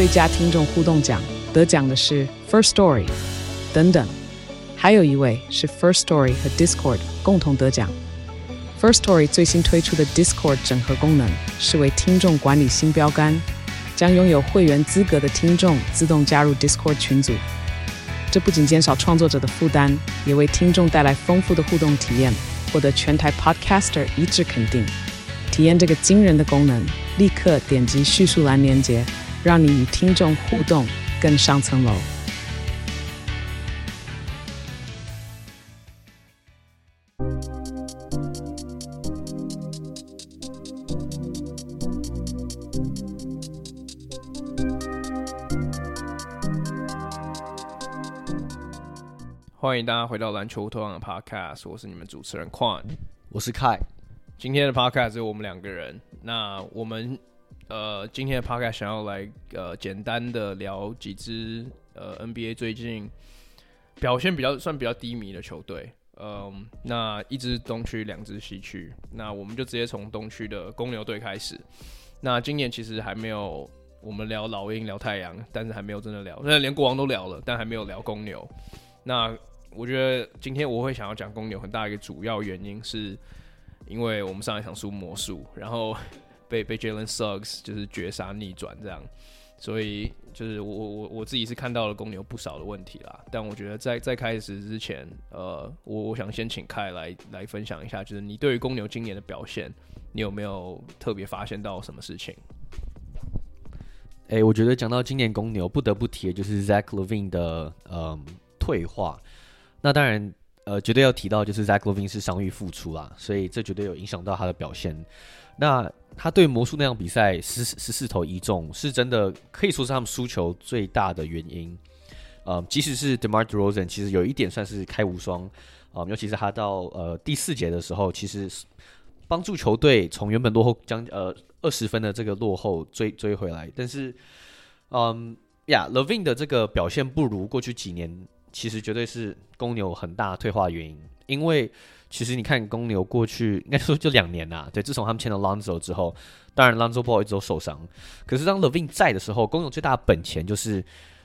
最佳聽眾互動獎，得獎的是 First Story 等等，還有一位是 First Story 和 Discord 共同得獎。First Story 最新推出的 Discord 整合功能，是為聽眾管理新標杆，將擁有會員資格的聽眾自動加入 Discord 群組。這不僅減少創作者的負擔，也為聽眾帶來豐富的互動體驗，獲得全台 Podcaster 一致肯定。體驗這個驚人的功能，立刻點擊敘述欄連結，讓你與聽眾互動更上層樓。 歡迎大家回到籃球托邦的 Podcast， 我是你們主持人 Quan， 我是 Kai。 今天的 Podcast 只有我們兩個人。那我們今天的 Podcast 想要來簡單的聊幾支NBA 最近表現算比較低迷的球隊。那一支東區，兩支西區。那我們就直接從東區的公牛隊開始。那今年其實還沒有我們聊老鷹、聊太陽，但是還沒有真的聊，連國王都聊了，但還沒有聊公牛。那我覺得今天我會想要講公牛很大一個主要原因是，因為我們上一場輸魔術，然後被 Jalen Suggs 就是絕殺逆轉這樣，所以就是我自己是看到了公牛不少的問題啦。但我覺得在開始之前，我想先請凱來分享一下，就是你對於公牛今年的表現，你有沒有特別發現到什麼事情？ 我覺得講到今年公牛，不得不提的就是 Zach LaVine 的退化。那當然，絕對要提到就是 Zach LaVine 是傷癒復出啦，所以這絕對有影響到他的表現。那他對魔術那場比賽14投1中，是真的可以說是他們輸球最大的原因。即使是 DeMar DeRozan 其實有一點算是開無雙，尤其是他到第4節的時候，其實幫助球隊從原本落後20分的這個落後追回來。但是LaVine 的這個表現不如過去幾年，其實絕對是公牛很大退化的原因。因為其實你看公牛過去應該說就2年啦，對，自從他們簽了 Lonzo 之後，當然 Lonzo Ball 一直都受傷，可是當 LaVine 在的時候，公牛最大的本錢就是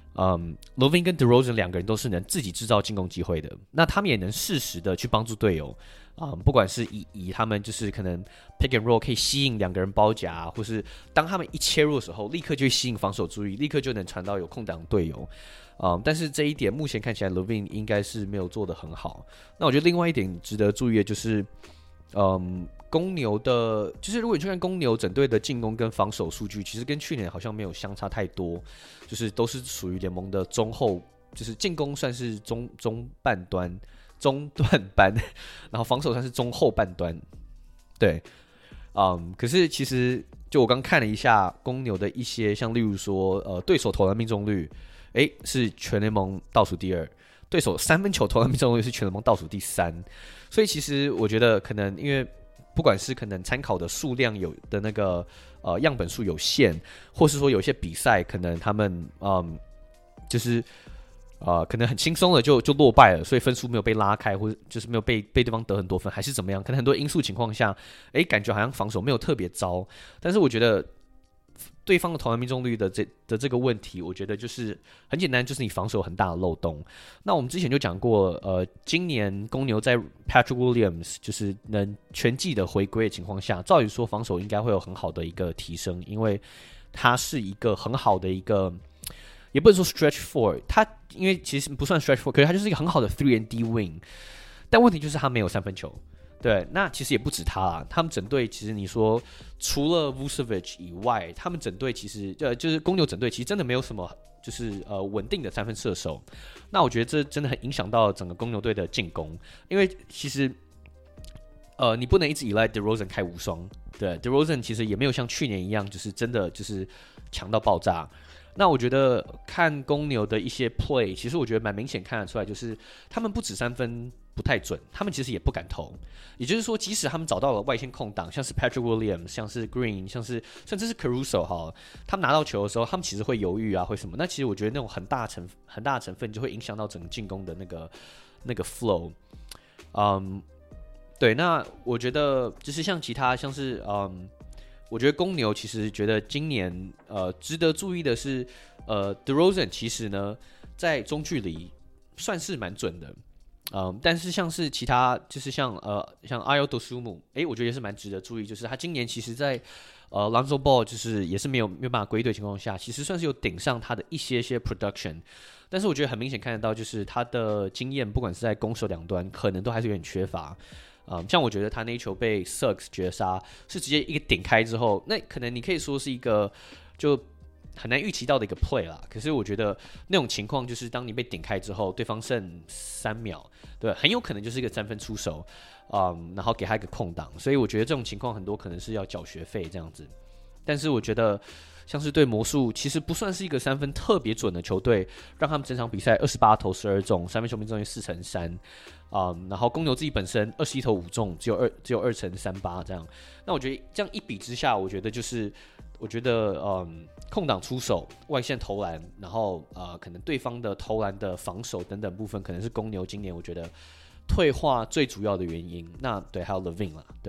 LaVine 跟 DeRozan 兩個人都是能自己制造進攻機會的，那他們也能適時的去幫助隊友。不管是以他們就是可能 pick and roll 可以吸引2個人包夾，或是當他們一切入的時候，立刻就會吸引防守注意，立刻就能傳到有空檔隊友。但是這一點目前看起來 LaVine 應該是沒有做得很好。那我覺得另外一點值得注意的就是公牛的，就是如果你去看公牛整隊的進攻跟防守数据，其實跟去年好像沒有相差太多，就是都是屬於聯盟的中後，就是進攻算是中半端。中段班，然後防守算是中後半端，对，可是其實就我剛看了一下公牛的一些，像例如說，對手投籃命中率，是全聯盟倒數第2，對手3分球投籃命中率是全聯盟倒數第3，所以其實我覺得可能因為不管是可能參考的數量有的那個樣本數有限，或是說有些比賽可能他們就是。可能很輕鬆的就落敗了，所以分數沒有被拉開，或者就是沒有被對方得很多分，還是怎麼樣？可能很多因素情況下，感覺好像防守沒有特別糟。但是我覺得對方的投籃命中率的這個問題，我覺得就是很簡單，就是你防守很大的漏洞。那我們之前就講過，今年公牛在 Patrick Williams 就是能全季的回歸的情況下，照理說防守應該會有很好的一個提升，因為它是一個很好的一個。也不能說 stretch four， 他因為其實不算 stretch four， 可是他就是一個很好的 3&D wing， 但問題就是他沒有3分球。對，那其實也不止他啦，他們整隊其實你說除了 Vucevic 以外，他們整隊其實就是公牛整隊其實真的沒有什麼就是穩定的3分射手。那我覺得這真的很影響到整個公牛隊的進攻，因為其實你不能一直依賴 DeRozan 開無雙。對 ，DeRozan 其實也沒有像去年一樣，就是真的就是強到爆炸。那我覺得看公牛的一些 play， 其實我覺得蠻明顯看得出來，就是他們不止3分不太準，他們其實也不敢投。也就是說，即使他們找到了外線空檔，像是 Patrick Williams， 像是 Green， 像是甚至是 Caruso 哈，他們拿到球的時候，他們其實會猶豫啊，會什麼？那其實我觉得那種很大的成分就會影響到整個進攻的那個 flow。对，那我覺得就是像其他像是我覺得公牛其實覺得今年值得注意的是DeRozan 其實呢在中距離算是蠻準的。但是像是其他，就是像Ayo Dosunmu，我覺得也是蠻值得注意，就是他今年其實在Lonzo Ball 就是也是沒有辦法歸隊情況下，其實算是有頂上他的一些 production， 但是我覺得很明顯看得到，就是他的經驗，不管是在攻守兩端，可能都還是有點缺乏。像我覺得他那一球被 Suggs 絕殺，是直接一個頂開之後，那可能你可以說是一個就很難預期到的一個 play 啦，可是我覺得那種情況就是當你被頂開之後，對方剩3秒，對，很有可能就是一個3分出手，然後給他一個空檔，所以我覺得這種情況很多可能是要繳學費這樣子。但是我覺得像是对魔術，其實不算是一個3分特別準的球隊，讓他們整場比賽28投12中，三分球命中率4成3，然後公牛自己本身21投5中，只有2成38這樣。那我覺得這樣一比之下，我覺得空檔出手、外線投籃，然後可能對方的投籃的防守等等部分，可能是公牛今年我覺得退化最主要的原因。那對，還有 LaVine 啦，對。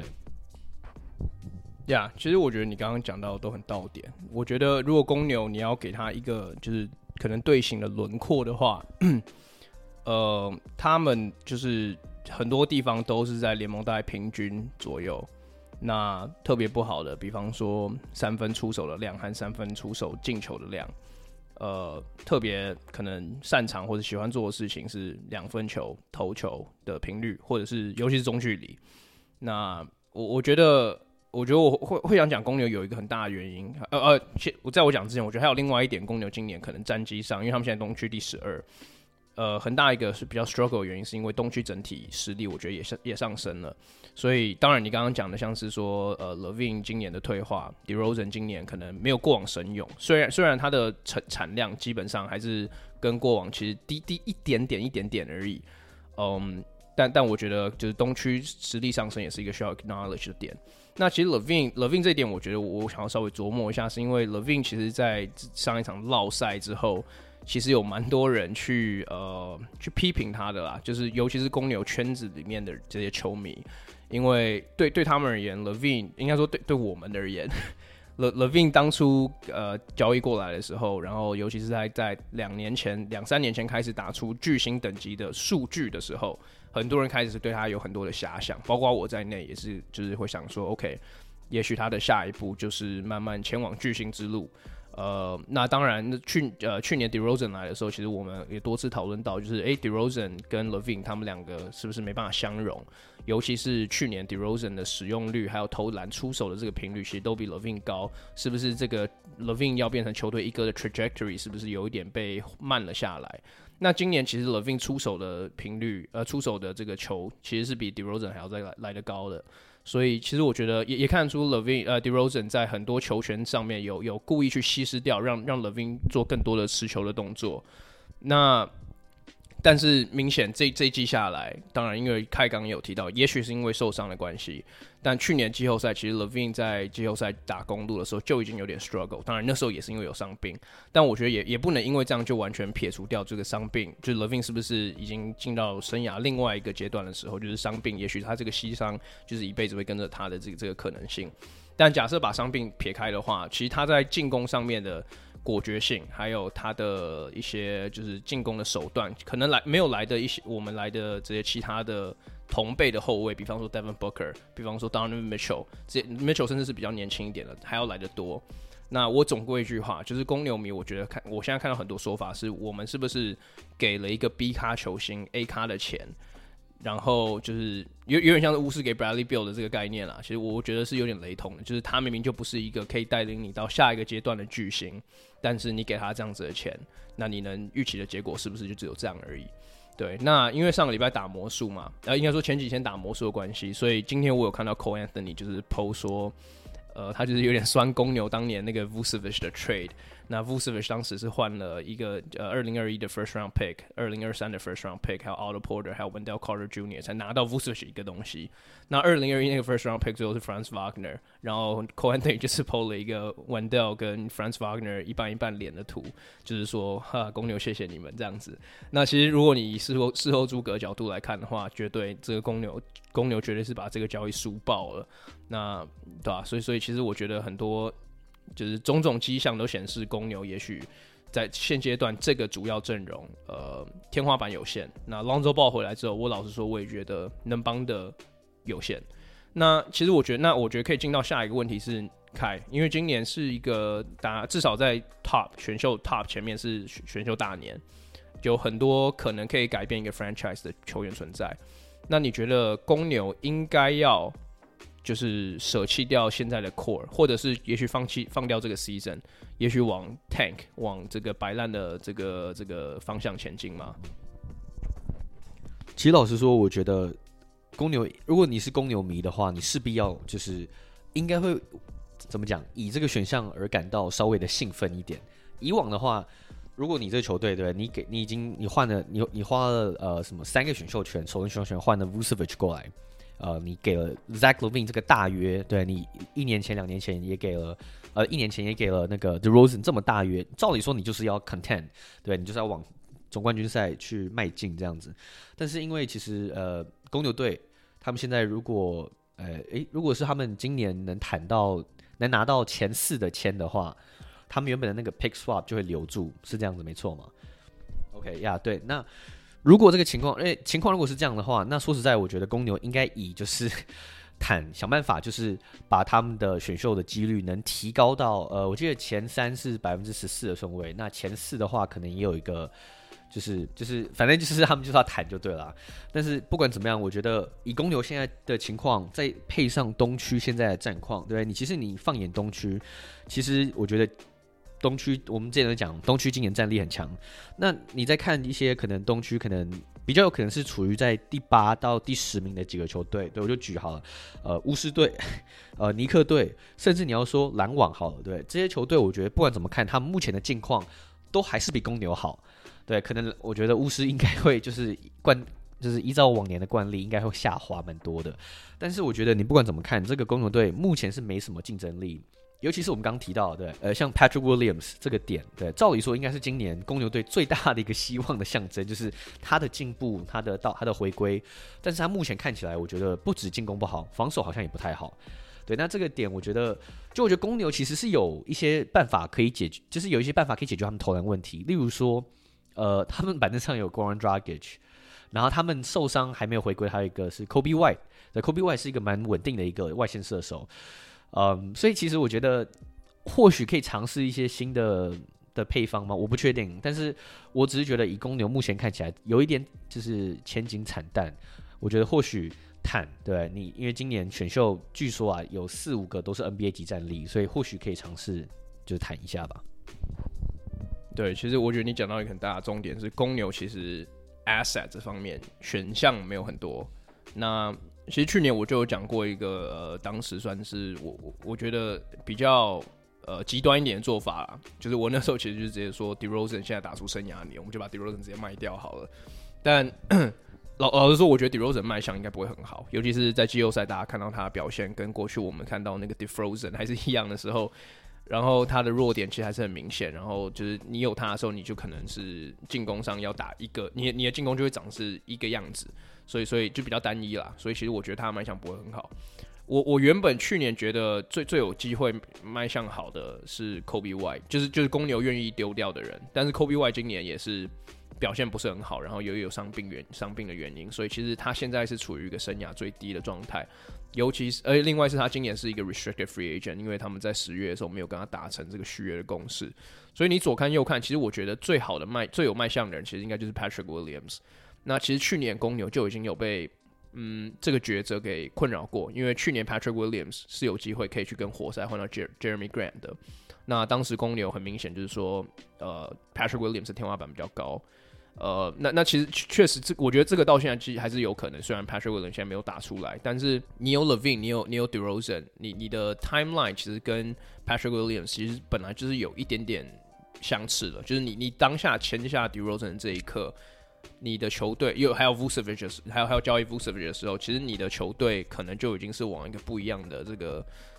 其實我覺得你剛剛講到的都很到點。我覺得如果公牛你要給他一個就是可能隊形的輪廓的話，他們就是很多地方都是在聯盟大概平均左右。那特別不好的，比方說3分出手的量和3分出手進球的量，特別可能擅長或者喜歡做的事情是2分球投球的頻率，或者是尤其是中距離。那我覺得我會想講公牛有一個很大的原因，在我講之前，我覺得還有另外一點，公牛今年可能戰績上，因為他們現在東區第12。很大一個是比較 struggle 的原因，是因為東區整體實力我覺得也上升了，所以當然你剛剛講的像是說LaVine 今年的退化 ，DeRozan 今年可能沒有過往神勇，雖然他的產量基本上還是跟過往其實低一點點而已，但我覺得就是東區實力上升也是一個需要 acknowledge 的點。那其實 LaVine 這一點，我覺得我想要稍微琢磨一下，是因為 LaVine 其實在上一場烙賽之後。其實有蠻多人去批評他的啦，就是尤其是公牛圈子裡面的這些球迷，因為對他們而言 ，LaVine 應該說對我們而言，LaVine 當初交易過來的時候，然後尤其是在2-3年前開始打出巨星等級的數據的時候，很多人開始是對他有很多的遐想，包括我在內也是，就是會想說 ，OK， 也許他的下一步就是慢慢前往巨星之路。那當然，去年 DeRozan 來的時候，其實我們也多次討論到，就是DeRozan 跟 LaVine 他們兩個是不是沒辦法相容？尤其是去年 DeRozan 的使用率還有投籃出手的這個頻率，其實都比 LaVine 高，是不是這個 LaVine 要變成球隊一哥的 trajectory 是不是有一點被慢了下來？那今年其實 LaVine 出手的頻率，出手的這個球其實是比 DeRozan 還要再來得高的。所以其實我覺得也看得出 DeRozan 在很多球權上面有故意去稀釋掉，讓 LaVine 做更多的持球的動作。那但是明顯這一季下來，當然因為開剛也有提到，也許是因為受傷的關係，但去年季後賽其實 LaVine 在季後賽打公鹿的時候就已經有點 struggle， 當然那時候也是因為有傷病，但我覺得也不能因為這樣就完全撇除掉這個傷病，就是 LaVine 是不是已經進到生涯另外一個階段的時候，就是傷病，也許他這個膝傷就是一輩子會跟着他的這個可能性。但假設把傷病撇開的話，其實他在進攻上面的果決性，還有他的一些就是進攻的手段，可能沒有來的一些我們來的這些其他的同輩的後衛，比方說 Devin Booker， 比方說 Donovan Mitchell 甚至是比較年輕一點的，還要來得多。那我總歸一句話，就是公牛迷，我覺得我現在看到很多說法是，我們是不是給了一個 B 咖球星 A 咖的錢？然後就是有點像是巫師給 Bradley Beal 的這個概念啦，其實我覺得是有點雷同的，就是他明明就不是一個可以帶領你到下一個階段的巨星，但是你給他這樣子的錢，那你能預期的結果是不是就只有這樣而已？對，那因為上個禮拜打魔術嘛，應該說前幾天打魔術的關係，所以今天我有看到 Cole Anthony 就是 po 說，他就是有點酸公牛當年那個 Vucevic 的 trade。那 Vucevic 當時是換了一個2021的 first round pick， 2023的 first round pick， 還有 Otto Porter， 還有 Wendell Carter Jr. 才拿到 Vucevic 一個東西。那2021那個 first round pick 最後是 Franz Wagner， 然後 Cole Anthony 就是 po 了一個 Wendell 跟 Franz Wagner 一半一半臉的圖，就是說哈公牛謝謝你們這樣子。那其實如果你以事後諸葛角度來看的話，絕對這個公牛絕對是把這個交易輸爆了。那對吧？所以其實我覺得很多就是種種跡象都顯示公牛也許在現階段這個主要陣容天花板有限。那 Lonzo Ball 回來之後，我老實說我也覺得能幫的有限。那其實我覺得可以進到下一個問題是凱，因為今年是一個至少在 選秀 top 前面是選秀大年，有很多可能可以改變一個 franchise 的球員存在。那你覺得公牛應該要就是捨棄掉現在的 core， 或者是也許放掉這個 season， 也許往 tank 往這個擺爛的這個方向前進嗎？ 其實老實說，我覺得公牛，如果你是公牛迷的話，你勢必要就是應該會怎麼講，以這個選項而感到稍微的興奮一點。以往的話，如果你這個球隊對你花了什麼3個選秀權，首轮選秀權換了 Vucevic 過來，你給了 Zach LaVine 這個大約，對你1年前2年前也給了1年前也給了那個 DeRozan 這麼大約，照理說你就是要 contend， 對你就是要往總冠軍賽去邁進這樣子。但是因為其實公牛隊他們現在如果是他們今年能拿到前4的簽的話，他們原本的那個 pick swap 就會留住，是這樣子沒錯嗎 ？OK 呀，對。那如果這個情況如果是這樣的話，那說實在，我覺得公牛應該以就是想辦法，就是把他們的選秀的幾率能提高到我記得前3是14%的順位，那前4的話可能也有一個。就是反正就是他们就是要談就對了。但是不管怎麼樣，我覺得以公牛現在的情況，再配上東區現在的戰況，對，其實你放眼東區，其實我覺得東區我們之前講東區今年戰力很強。那你再看一些可能東區可能比較有可能是處於在第8到第10名的幾個球隊，對，我就舉好了，巫師隊、尼克隊，甚至你要說籃網好了，對，這些球隊我覺得不管怎麼看，他們目前的境況都還是比公牛好。對，可能我覺得巫師應該會就是依照往年的慣例，應該會下滑蠻多的。但是我覺得你不管怎麼看，這個公牛隊目前是沒什麼競爭力，尤其是我們剛剛提到的，對，像 Patrick Williams 這個點，對，照理說應該是今年公牛隊最大的一個希望的象徵，就是他的進步，他的回歸。但是他目前看起來，我覺得不止進攻不好，防守好像也不太好。對，那這個點我覺得公牛其實是有一些辦法可以解決，就是有一些辦法可以解決他們投籃問題，例如說。他們板凳上有 Goran Dragic， 然後他們受傷還沒有回歸，還有一個是 Kobe White， 對 Kobe White 是一個蠻穩定的一個外線射手，所以其實我覺得或許可以嘗試一些新的配方嗎？我不確定，但是我只是覺得以公牛目前看起來有一點就是前景慘淡，我覺得或許對你，因為今年選秀據說有4-5個都是 NBA 級戰力，所以或許可以嘗試就是談一下吧。 對，其實我覺得你講到一個很大的重點是，公牛其實 asset 這方面選項沒有很多。那其實去年我就有講過一個當時算是我覺得比較極端一點的做法啦，就是我那時候其實就直接說 DeRozan 現在打出生涯年，我們就把 DeRozan 直接賣掉好了。但老實說，我覺得 DeRozan 賣相應該不會很好，尤其是在季後賽大家看到他的表現跟過去我們看到那個 DeRozan 還是一樣的時候。然後他的弱點其實還是很明顯，然後就是你有他的時候，你就可能是進攻上要打一個，你的進攻就會長是一個樣子，所以就比較單一啦。所以其實我覺得他的賣相不會很好。我原本去年覺得最有機會賣相好的是 Kobe White， 就是公牛願意丟掉的人，但是 Kobe White 今年也是表現不是很好，然後有傷病的原因，所以其實他現在是處於一個生涯最低的狀態。尤其是另外是他今年是一個 restricted free agent， 因為他們在10月的時候沒有跟他達成這個續約的共識，所以你左看右看，其實我覺得最有賣相的人，其實應該就是 Patrick Williams。那其實去年公牛就已經有被這個抉擇給困擾過，因為去年 Patrick Williams 是有機會可以去跟活塞換到 Jeremy Grant 的。那當時公牛很明顯就是說Patrick Williams 的天花板比較高。那其實確實，我覺得這個到現在其實還是有可能。雖然 Patrick Williams 現在沒有打出來，但是你有 LaVine， 你有 DeRozan， 你的 timeline 其實跟 Patrick Williams 其實本來就是有一點點相似的。就是你當下簽下 DeRozan 的這一刻，你的球隊還有 Vucevic， 還有交易 Vucevic 的時候，其實你的球隊可能就已經是往一個不一樣的這個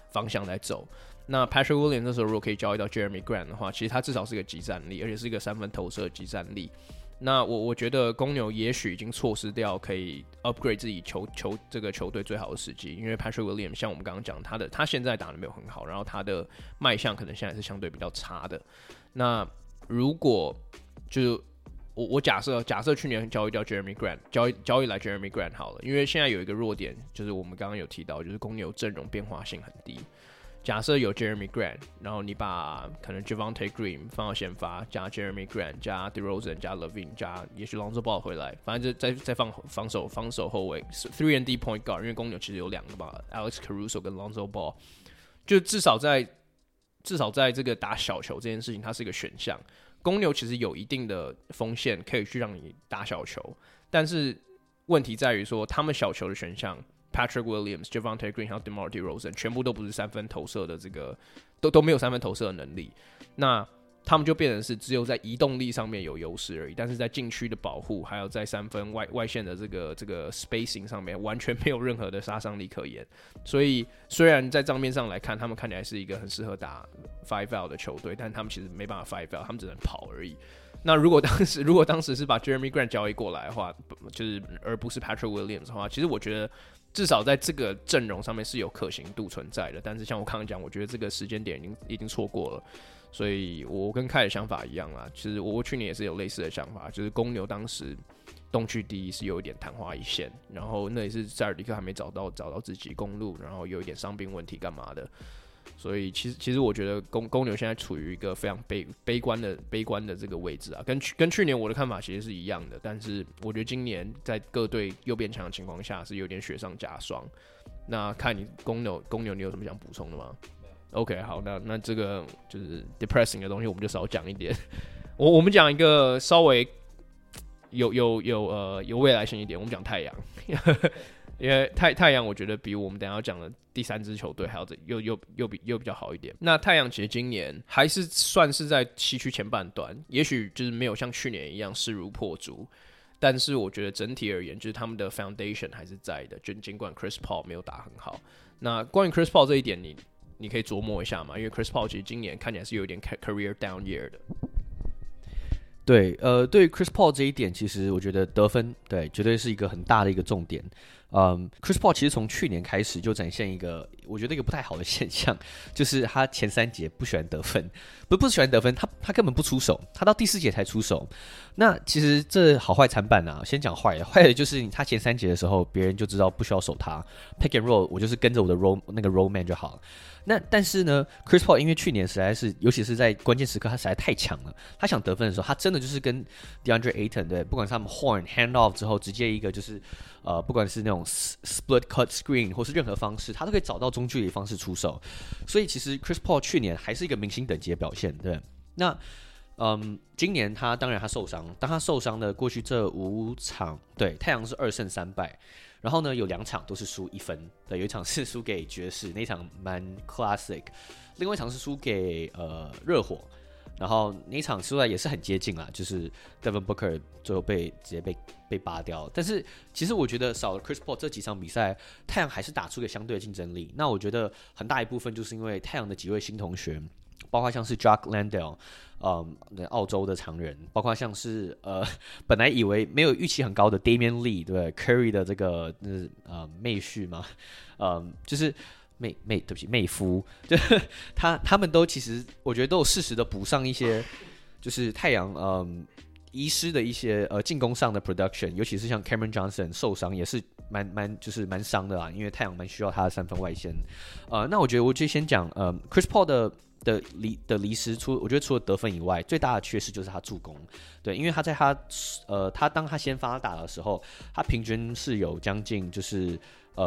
方向來走。那 Patrick Williams 那時候如果可以交易到 Jeremy Grant 的話，其實他至少是個即戰力，而且是一個3分投射的即戰力。那我覺得公牛也許已經錯失掉可以 upgrade 自己這個球隊最好的時機，因為 Patrick Williams 像我們剛剛講，他現在打得沒有很好，然後他的賣相可能現在是相對比較差的。那如果就是我假設去年交易掉 Jeremy Grant， 交易來 Jeremy Grant 好了，因為現在有一個弱點，就是我們剛剛有提到，就是公牛陣容變化性很低。假設有 Jeremy Grant， 然後你把可能 Javonte Green 放到先發，加 Jeremy Grant 加 DeRozan 加 LaVine 加也許 Lonzo Ball 回來，反正再放防守後衛 3&D point guard， 因為公牛其實有2個嘛 ，Alex Caruso 跟 Lonzo Ball， 就至少在這個打小球這件事情，它是一個選項。公牛其實有一定的鋒線可以去讓你打小球，但是問題在於說他們小球的選項。Patrick Williams、Javonte Green 還有 DeMar DeRozan 全部都不是3分投射的這個都沒有3分投射的能力，那他們就變成是只有在移動力上面有優勢而已，但是在禁區的保護還有在3分外線的這個 spacing 上面完全沒有任何的殺傷力可言。所以雖然在賬面上來看，他們看起來是一個很適合打 5 out 的球隊，但他們其實沒辦法5 out， 他們只能跑而已。那如果當時是把 Jeremy Grant 交易過來的話，就是而不是 Patrick Williams 的話，其實我覺得至少在這個陣容上面是有可行度存在的。但是像我剛剛講，我覺得這個時間點已經錯過了。所以我跟凱的想法一樣啦，其實我去年也是有類似的想法，就是公牛當時东區第一是有一點曇花一現，然後那也是塞爾迪克還沒找到自己公路，然後有一點傷病問題幹嘛的。所以其實我覺得公牛現在處於一個非常悲觀的這個位置啊，跟去年我的看法其實是一樣的，但是我覺得今年在各隊又變強的情況下是有點雪上加霜。那看你公牛你有什麼想補充的嗎？ OK， 好，那這個就是 depressing 的東西我們就少講一點。我們講一個稍微有未來性一點，我們講太陽。因為太陽，我覺得比我們等一下要講的第3支球隊還要又比較好一點。那太陽其實今年還是算是在西區前半段，也許就是沒有像去年一樣勢如破竹，但是我覺得整體而言，就是他們的 foundation 還是在的。就儘管 Chris Paul 沒有打很好，那關於 Chris Paul 這一點，你可以琢磨一下嘛，因為 Chris Paul 其實今年看起來是有一點 career down year 的。 對，對於 Chris Paul 這一點，其實我覺得得分對絕對是一個很大的一個重點。Chris Paul 其實從去年開始就展現一個，我覺得一個不太好的現象，就是他前3節不喜歡得分，不喜歡得分，他根本不出手，他到第4節才出手。那其實這好壞參半啊，先講壞的就是他前3節的時候，別人就知道不需要守他 ，pick and roll， 我就是跟着我的 roll man 就好了。那但是呢 ，Chris Paul 因為去年實在是，尤其是在關鍵時刻，他實在太強了。他想得分的時候，他真的就是跟 DeAndre Ayton 對，不管是他們 horn hand off 之後，直接一個就是不管是那種 split cut screen 或是任何方式，他都可以找到中距離方式出手。所以其實 Chris Paul 去年還是一個明星等級的表現，對。那今年當然他受傷，當他受傷的過去這5場，對，太陽是2勝3敗。然後呢，有2場都是輸1分，對，有一場是輸給爵士，那一場蠻 classic， 另外一場是輸給熱火，然後那一場輸來也是很接近啦，就是 Devin Booker 最後直接被拔掉。但是其實我覺得少了 Chris Paul 這幾場比賽，太陽還是打出一個相對的競爭力。那我覺得很大一部分就是因為太陽的幾位新同學，包括像是 Jock Landale，澳洲的常人，包括像是本來以為沒有預期很高的 Damian Lee， 對不對 ？Curry 的這個妹婿嘛，就是妹夫，就是他們都其實我覺得都有適時的補上一些，就是太陽遺失的一些進攻上的 production， 尤其是像 Cameron Johnson 受傷也是蠻傷的啦，因為太陽蠻需要他的3分外線。那我覺得我就先講Chris Paul 的離失，我觉得除了得分以外，最大的缺失就是他助攻。对，因為他在他当他先發打的時候，他平均是有將近就是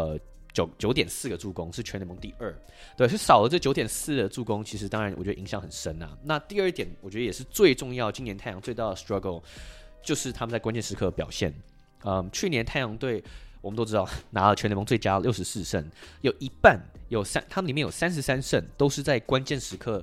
9.4個助攻，是全聯盟第2。對，是少了這9.4的助攻，其實當然我覺得影響很深啊。那第2點，我覺得也是最重要，今年太陽最大的 struggle 就是他們在關鍵時刻的表現。去年太陽隊我們都知道拿了全聯盟最佳64勝，有一半他們裡面有33勝都是在關鍵時刻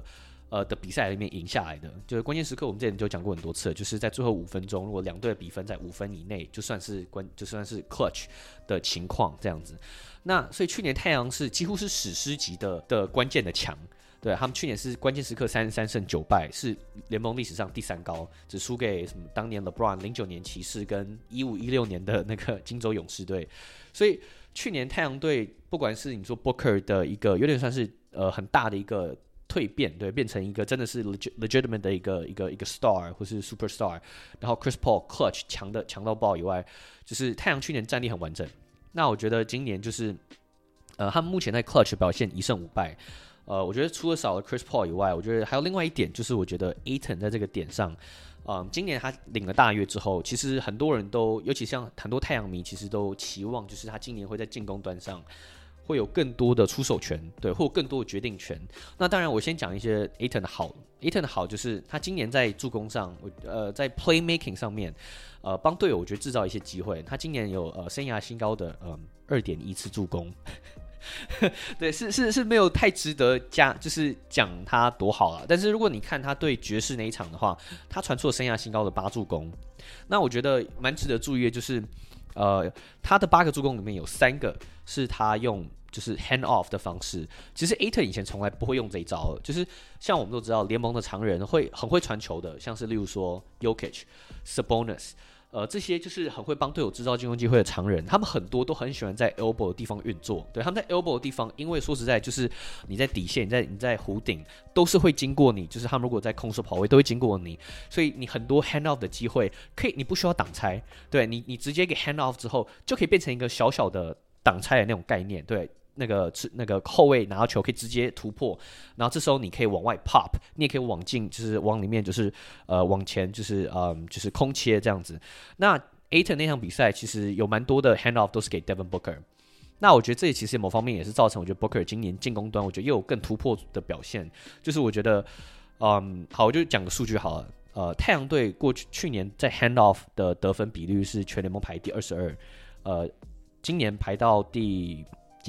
的比賽裡面贏下來的。就是關鍵時刻，我們之前就講過很多次，就是在最後5分鐘，如果兩隊的比分在5分以內，就算是 clutch 的情況這樣子。那所以去年太陽是幾乎是史詩級的關鍵的強。对，他們去年是關鍵時刻33勝9敗，是聯盟歷史上第3高，只輸給什麼當年 LeBron 09年騎士跟15-16年的那個金州勇士隊。所以去年太陽隊不管是你說 Booker 的一個有點算是很大的一個蛻變，對，變成一個真的是 legitimate 的一個 star 或是 superstar， 然後 Chris Paul clutch 強到爆以外，就是太陽去年戰力很完整。那我覺得今年就是他們目前在 clutch 表現1勝5敗。我覺得除了少了 Chris Paul 以外，我覺得還有另外一點，就是我覺得 Ayton 在這個點上，今年他領了大約之後，其實很多人都，尤其像很多太陽迷，其實都期望就是他今年會在進攻端上會有更多的出手權，對，或有更多的決定權。那當然，我先講一些 Ayton 的好。Ayton 的好就是他今年在助攻上，在 playmaking 上面，幫隊友我覺得製造一些機會。他今年有生涯新高的2.1次助攻。對，是沒有太值得就是講他多好了。但是如果你看他對爵士那一場的話，他傳出了生涯新高的8助攻。那我覺得蠻值得注意的，就是他的8個助攻裡面有3個是他用就是 hand off 的方式。其實 Ayton 以前從來不會用這一招，就是像我們都知道聯盟的常人很會傳球的，像是例如說 Jokic、Sabonis。這些就是很會幫隊友製造進攻機會的常人，他們很多都很喜歡在 elbow 的地方運作。對，他們在 elbow 的地方，因為說實在，就是你在底線、你在弧頂，都是會經過你。就是他們如果在空手跑位，都會經過你，所以你很多 hand off 的機會，可以你不需要擋拆，對你直接給 hand off 之後，就可以變成一個小小的擋拆的那種概念，對。那個後衛拿到球可以直接突破，然後這時候你可以往外 pop， 你也可以往進，就是往裡面，就是往前，就是空切這樣子。那 Ayton 那場比賽其實有蠻多的 hand off 都是給 Devin Booker。那我覺得這其實某方面也是造成我覺得 Booker 今年進攻端我覺得又有更突破的表現。就是我覺得好，我就講個數據好了。太陽隊去年在 hand off 的得分比率是全聯盟排第22，今年排到第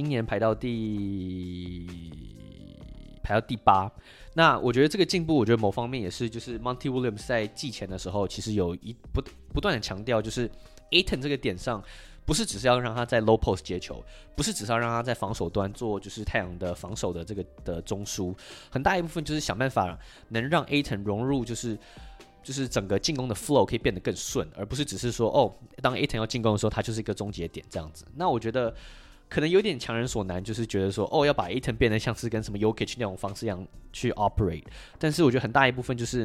8。那我覺得這個進步，我覺得某方面也是，就是 Monty Williams 在季前的時候，其實有不斷的強調，就是 Ayton 這個點上，不是只是要讓他在 low post 接球，不是只是要讓他在防守端做就是太陽的防守的這個的中樞，很大一部分就是想辦法能讓 Ayton 融入就是整個進攻的 flow 可以變得更順，而不是只是說當 Ayton 要進攻的時候，他就是一個終結點這樣子。那我覺得可能有點強人所難，就是覺得說要把 Ayton 變得像是跟什麼 Jokic 那種方式一樣去 operate。但是我覺得很大一部分就是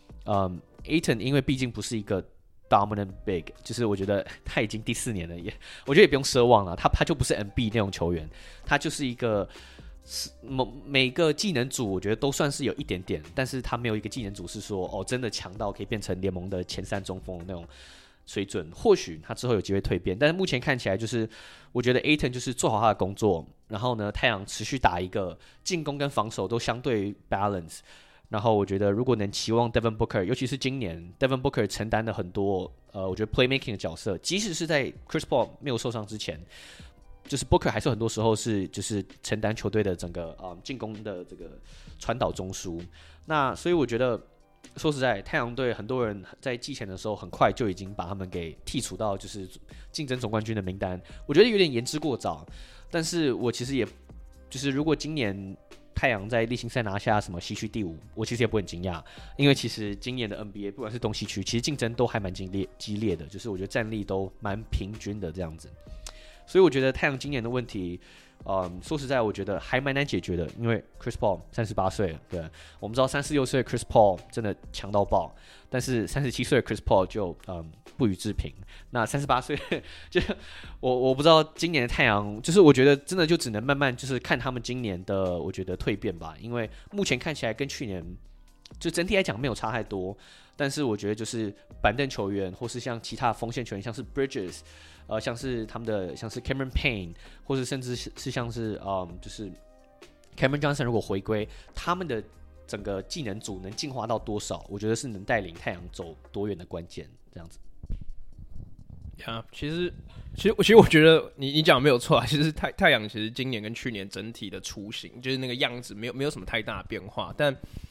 Ayton 因為畢竟不是一個 dominant big， 就是我覺得他已經第4年了，我覺得也不用奢望了，他就不是 MB 那種球員，他就是一個每個技能組我覺得都算是有一點點，但是他沒有一個技能組是說真的強到可以變成聯盟的前3中鋒的那種水準。或許他之後有機會蛻變，但是目前看起來就是我覺得 Ayton 就是做好他的工作，然後呢太陽持續打一個進攻跟防守都相对 balance。然後我覺得如果能期望 Devin Booker， 尤其是今年 Devin Booker 承擔了很多我覺得 playmaking 的角色，即使是在 Chris Paul 沒有受傷之前，就是 Booker 還是很多時候是就是承擔球隊的整個進攻的這個傳導中樞。那所以我覺得說實在，太陽隊很多人在季前的時候很快就已經把他們給剔除到就是競爭總冠軍的名單，我覺得有點言之過早。但是我其實也就是如果今年太陽在例行賽拿下什麼西區第5，我其實也不很驚訝，因為其實今年的 NBA 不管是東西區，其實競爭都還蠻激烈的，就是我覺得戰力都蠻平均的這樣子。所以我覺得太陽今年的問題，說實在，我覺得還蠻難解決的，因為 Chris Paul 38歲了，對，我們知道36歲的 Chris Paul 真的強到爆，但是37歲的 Chris Paul 就不予置評。那38歲就我不知道今年的太陽，就是我覺得真的就只能慢慢就是看他們今年的我覺得蛻變吧，因為目前看起來跟去年就整體來講沒有差太多，但是我覺得就是板凳球員或是像其他锋線球員，像是 Bridges。像是他们的像是 Cameron Payne， 或是甚至是像是就是 Cameron Johnson 如果回歸，他們的整個技能組能進化到多少，我覺得是能帶領太陽走多遠的關鍵，這樣子。 其實我覺得你講的沒有錯啊。其實太陽其實今年跟去年整體的雛形，就是那個樣子沒有什麼太大的變化，但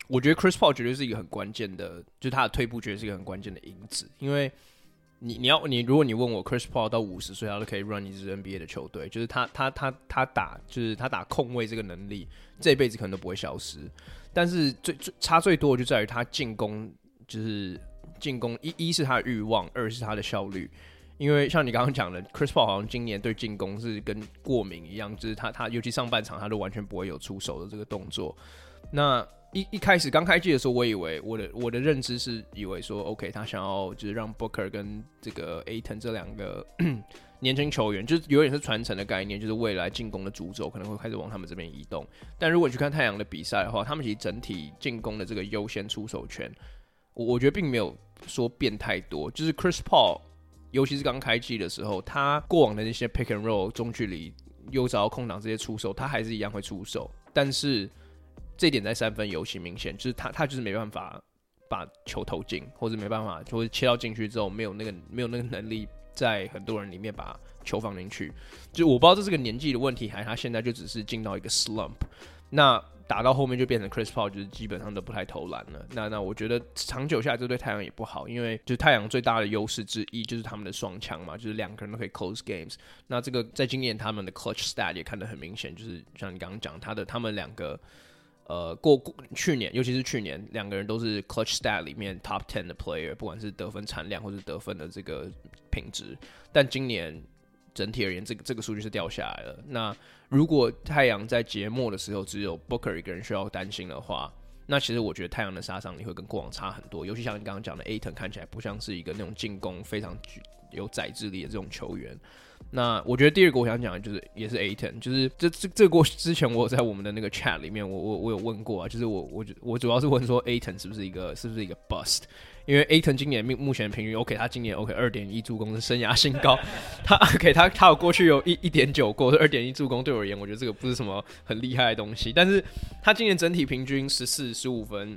我覺得 Chris Paul 絕對是一個很關鍵的，就是他的退步絕對是一個很關鍵的因子，因為如果你問我 Chris Paul 到50歲他都可以 run 一支 NBA 的球隊，就是他打控衛這個能力，這輩子可能都不會消失。但是差最多的就在於他進攻，就是進攻一是他的慾望，二是他的效率。因為像你剛剛講的 ，Chris Paul 好像今年對進攻是跟過敏一樣，就是他尤其上半场他都完全不會有出手的這個動作。那一開始剛開季的時候，我以為我的認知是以為說 ，OK， 他想要就是讓 Booker 跟這個 Ayton 這兩個年輕球員，就是有點是傳承的概念，就是未來進攻的主軸可能會開始往他們這邊移動。但如果你去看太陽的比賽的話，他們其實整體進攻的這個優先出手權，我覺得並沒有說變太多。就是 Chris Paul， 尤其是剛開季的時候，他過往的那些 pick and roll 中距離又找到空檔這些出手，他還是一樣會出手，但是這一點在三分尤其明顯，就是他就是沒辦法把球投進，或者沒辦法，或者切到禁區之後沒有那個能力在很多人裡面把球放進去。就我不知道這是個年紀的問題，還是他現在就只是進到一個 slump。那打到後面就變成 Chris Paul 就是基本上都不太投籃了。那我覺得長久下來这對太陽也不好，因為就是太陽最大的優勢之一就是他們的雙槍嘛，就是兩個人都可以 close games。那這個在今年他們的 clutch stat 也看得很明顯，就是像你剛剛講他們兩個。去年，尤其是去年，兩個人都是 clutch stat 裡面 top 10的 player， 不管是得分產量或是得分的這個品質。但今年整體而言，這個數據是掉下來了。那如果太陽在節末的時候只有 Booker 一個人需要擔心的話，那其實我覺得太陽的殺傷力會跟過往差很多。尤其像你剛剛講的 Ayton 看起來不像是一個那種進攻非常有宰制力的這種球員。那我覺得第二個我想講的就是也是 Ayton， 就是這個之前我有在我們的那個 chat 裡面我有問過啊，就是我主要是問說 Ayton 是不是一個 bust， 因為 Ayton 今年目前平均 OK， 他今年 OK 2.1助攻是生涯新高，他 OK 他有過去有1.9过2.1助攻，对我而言我覺得這個不是什麼很厲害的東西，但是他今年整體平均14、15分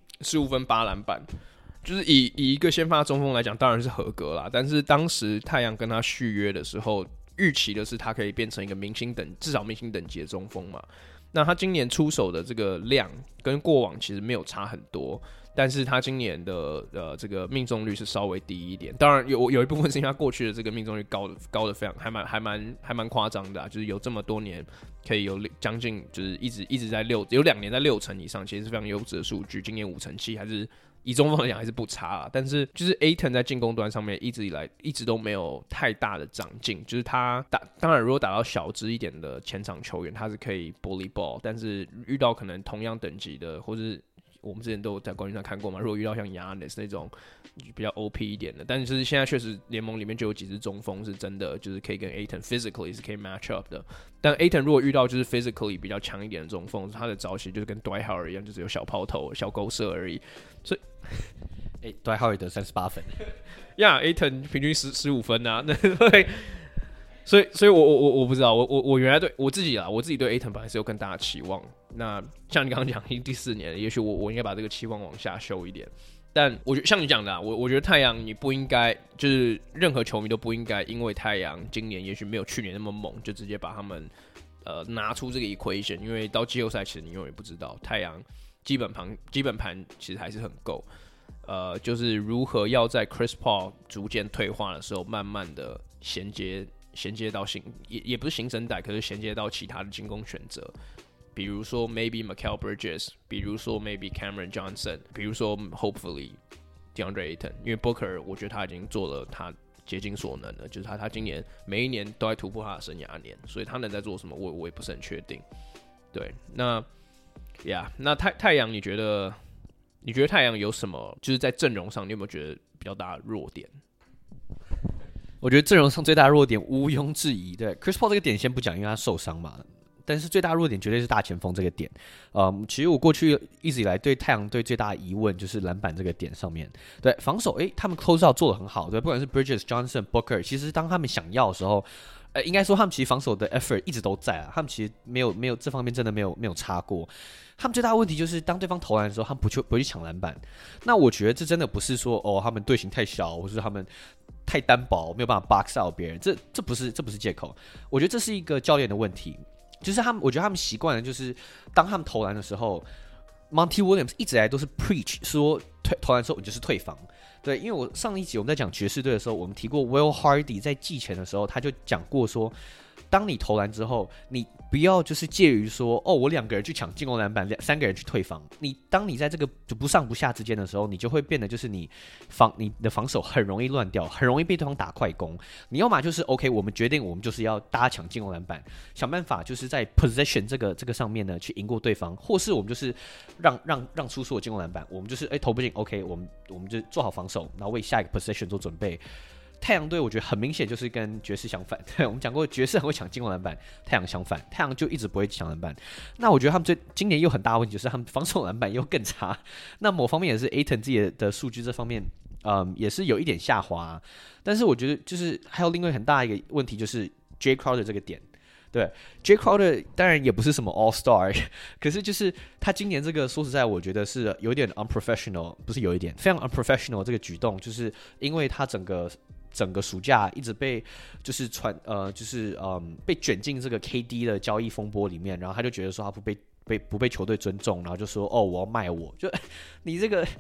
8籃板。就是以一個先發中鋒來講，當然是合格啦。但是當時太陽跟他續約的時候，預期的是他可以變成一個至少明星等級的中鋒嘛。那他今年出手的這個量跟過往其實沒有差很多，但是他今年的這個命中率是稍微低一點。當然有一部分是因為他過去的這個命中率高的非常還蠻誇張的啊，就是有這麼多年可以有將近就是一直在有2年在6成以上，其實是非常優質的數據。今年5成7還是。以中鋒來講還是不差啊，但是就是 Ayton 在進攻端上面一直都沒有太大的長進，就是他當然如果打到小只一點的前場球員，他是可以 bully ball， 但是遇到可能同樣等級的，或是我們之前都有在冠軍上看過嘛，如果遇到像 Giannis 那種比較 OP 一點的，但是就是現在確實聯盟裡面就有幾支中鋒是真的就是可以跟 Ayton physically 是可以 match up 的，但 Ayton 如果遇到就是 physically 比較強一點的中鋒，他的招式就是跟 Dwight Howard 一樣，就是有小拋投、小勾射而已，所以。 Dwight Howard 得38分 ，Ayton 平均15分啊，所以我不知道，我原来对我自己对 Ayton 本來是有更大的期望。那像你剛剛講，已經第4年了，也許我應該把這個期望往下修一點。但我覺得像你講的啊，我覺得太陽你不應該，就是任何球迷都不應該因為太陽今年也許沒有去年那麼猛，就直接把他們拿出這個 equation， 因為到季後賽其實你永遠不知道太陽。基本盤其實還是很夠，就是如何要在 Chris Paul 逐漸退化的時候，慢慢的銜接到也不是新生代，可是銜接到其他的進攻選擇，比如說 maybe Mikal Bridges， 比如說 maybe Cameron Johnson， 比如說 hopefully DeAndre Ayton， 因為 Booker 我覺得他已經做了他竭盡所能了，就是他今年每一年都在突破他的生涯年，所以他能在做什麼，我也不是很確定。對，那太陽，你覺得太陽有什麼？就是在陣容上，你有沒有覺得比較大的弱點？ 我覺得陣容上最大的弱點毋庸置疑，對 Chris Paul 這個點先不講，因為他受傷嘛。但是最大的弱點絕對是大前鋒這個點。其實我過去一直以來對太陽隊最大的疑問就是籃板這個點上面。對防守，他們 close out 做得很好，對，不管是 Bridges、Johnson、Booker， 其實當他們想要的時候。應該說他們其實防守的 effort 一直都在啊，他們其實沒有這方面真的沒有差過。他們最大的問題就是當對方投籃的時候，他們不會去搶籃板。那我覺得這真的不是說他們隊形太小，或是他們太單薄沒有辦法 box out 別人，這不是借口。我覺得這是一個教練的問題，就是我覺得他們習慣了，就是當他們投籃的時候， Monty Williams 一直以來都是 preach 說投籃之後你就是退防。對，因為我上一集我們在講爵士隊的時候，我們提過 Will Hardy 在季前的時候，他就講過說，當你投籃之後，你不要就是介於說，哦，我2個人去搶進攻籃板，3個人去退防。當你在這個就不上不下之間的時候，你就會變得就是你的防守很容易亂掉，很容易被對方打快攻。你要麼就是 OK， 我們決定我們就是要大家搶進攻籃板，想辦法就是在 possession 這個上面呢去贏過對方，或是我們就是讓出所有進攻籃板，我們就是投不進 OK， 我們就做好防守，然後為下一個 possession 做準備。太陽隊我覺得很明顯就是跟爵士相反，對，我們講過爵士很會搶進攻籃板，太陽相反，太陽就一直不會搶籃板。那我覺得他們今年又很大的問題就是他們防守籃板又更差。那某方面也是 Ayton 自己的數據這方面，也是有一點下滑。但是我覺得就是還有另外很大一個問題就是 Jay Crowder 這個點。對 ，Jay Crowder 當然也不是什麼 All Star， 可是就是他今年這個說實在，我覺得是有點 unprofessional， 不是有一點非常 unprofessional 這個舉動，就是因為他整個暑假一直被就是被捲進這個 KD 的交易風波裡面，然後他就覺得說他不被球隊尊重，然後就說哦我要賣我，就你這個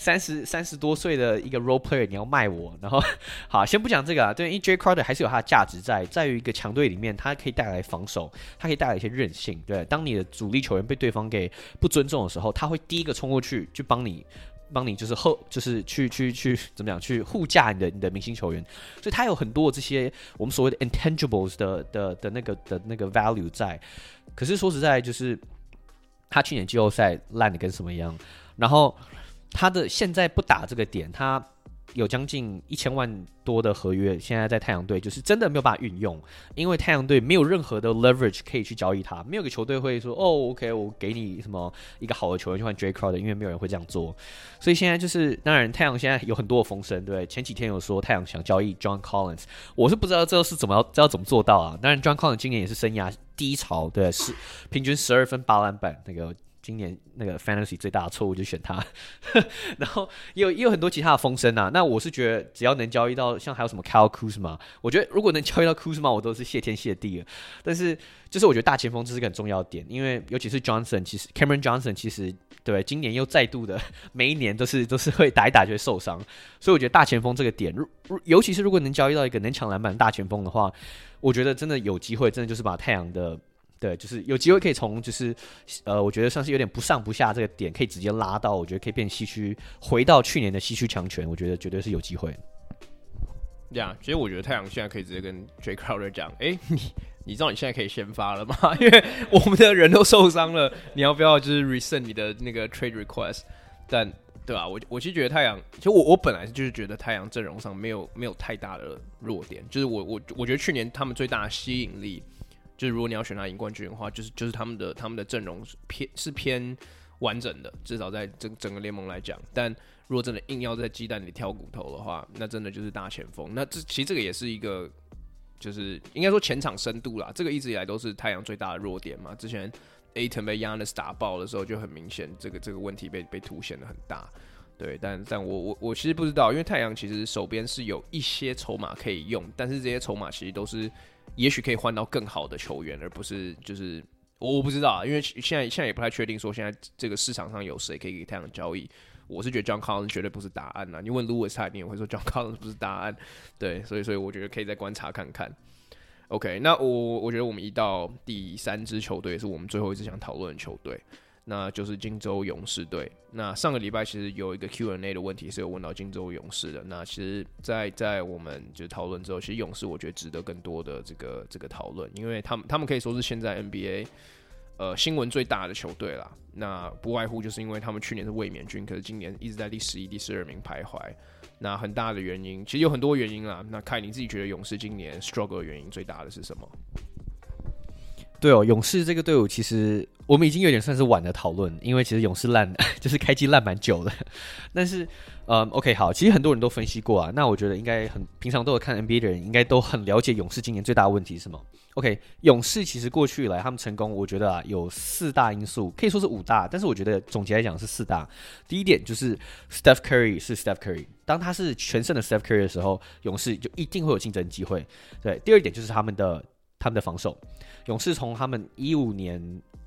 30多歲的一個 role player 你要賣我，然後好先不講這個啊，對，因為 Jay Crowder 還是有他的價值在於一個強隊裡面，他可以帶來防守，他可以帶來一些韌性，對，當你的主力球員被对方給不尊重的時候，他會第一個衝過去就幫你就是去怎麼講去護駕你的明星球員，所以他有很多這些我們所謂的 intangibles 的那個 value 在。可是說實在，就是他去年季後賽爛的跟什麼一樣，然後他的現在不打這個點，他有將近1000萬多的合約，現在在太陽隊就是真的沒有辦法運用，因為太陽隊沒有任何的 leverage 可以去交易他，沒有個球隊會說哦 OK 我給你什麼一個好的球員去換 Jay Crowder， 因為沒有人會這樣做，所以現在就是當然太陽現在有很多的風聲，對，前幾天有說太陽想交易 John Collins， 我是不知道這是怎麼做到啊，當然 John Collins 今年也是生涯低潮，對，平均12分8籃板那個。今年那個 Fantasy 最大的錯誤就選他，然後也有很多其他的風聲啊。那我是覺得只要能交易到，像還有什麼 Kyle Kuzma， 我覺得如果能交易到 Kuzma， 我都是謝天謝地了。但是就是我覺得大前鋒這是個很重要的點，因為尤其是 Cameron Johnson， 其實對今年又再度的每一年都是會打一打就會受傷，所以我覺得大前鋒這個點，尤其是如果能交易到一個能搶籃板的大前鋒的話，我覺得真的有機會，真的就是把太陽的。對，就是有機會可以從我覺得算是有點不上不下這個點，可以直接拉到，我覺得可以變西區，回到去年的西區強權，我覺得絕對是有機會。 其實我覺得太陽現在可以直接跟 Jay Crowder 講，你知道你現在可以先發了嗎？因為我們的人都受傷了，你要不要就是 rescind 你的那個 trade request？ 但對吧？我其實覺得太陽，其實我本來就是覺得太陽陣容上沒有太大的弱點，就是我覺得去年他們最大的吸引力。就是如果你要選他贏冠軍的話，就是他們的陣容是偏完整的，至少在整個聯盟來講。但如果真的硬要在雞蛋裡挑骨頭的話，那真的就是大前鋒。那其實這個也是一個，就是應該說前場深度啦，這個一直以來都是太陽最大的弱點嘛。之前 Ayton 被 Giannis 打爆的時候，就很明顯，這個問題被凸顯得很大。對，但我其實不知道，因為太陽其實手邊是有一些籌碼可以用，但是這些籌碼其實都是。也許可以換到更好的球員，而不是就是我不知道啊，因為現在也不太確定說現在這個市場上有誰可以給太陽交易。我是覺得 John Collins 絕對不是答案啊，你問 Lewis 他一定也會說 John Collins 不是答案。對，所以我覺得可以再觀察看看。OK， 那我覺得我們移到第3支球隊，是我們最後一支想討論的球隊。那就是金州勇士隊。那上個禮拜其實有一個 Q&A 的問題是有問到金州勇士的。那其實在我們就是討論之後，其實勇士我覺得值得更多的這個討論，因為他們可以說是現在 NBA 新聞最大的球隊啦。那不外乎就是因為他們去年是衛冕軍，可是今年一直在第11、第12名徘徊。那很大的原因，其實有很多原因啦。那凱，你自己覺得勇士今年 struggle 的原因最大的是什麼？ 對哦，勇士這個隊伍其實我們已經有點算是晚的討論，因為其實勇士就是開季爛蠻久的。但是OK 好，其實很多人都分析過啊。那我覺得應該平常都有看 NBA 的人應該都很了解勇士今年最大的問題是什麼。OK， 勇士其實過去以來他們成功，我覺得有4大因素，可以說是5大，但是我覺得總結來講是4大。第一點就是 Steph Curry 是 Steph Curry， 當他是全盛的 Steph Curry 的時候，勇士就一定會有競爭機會。對，第二點就是他們的防守。勇士從他們15年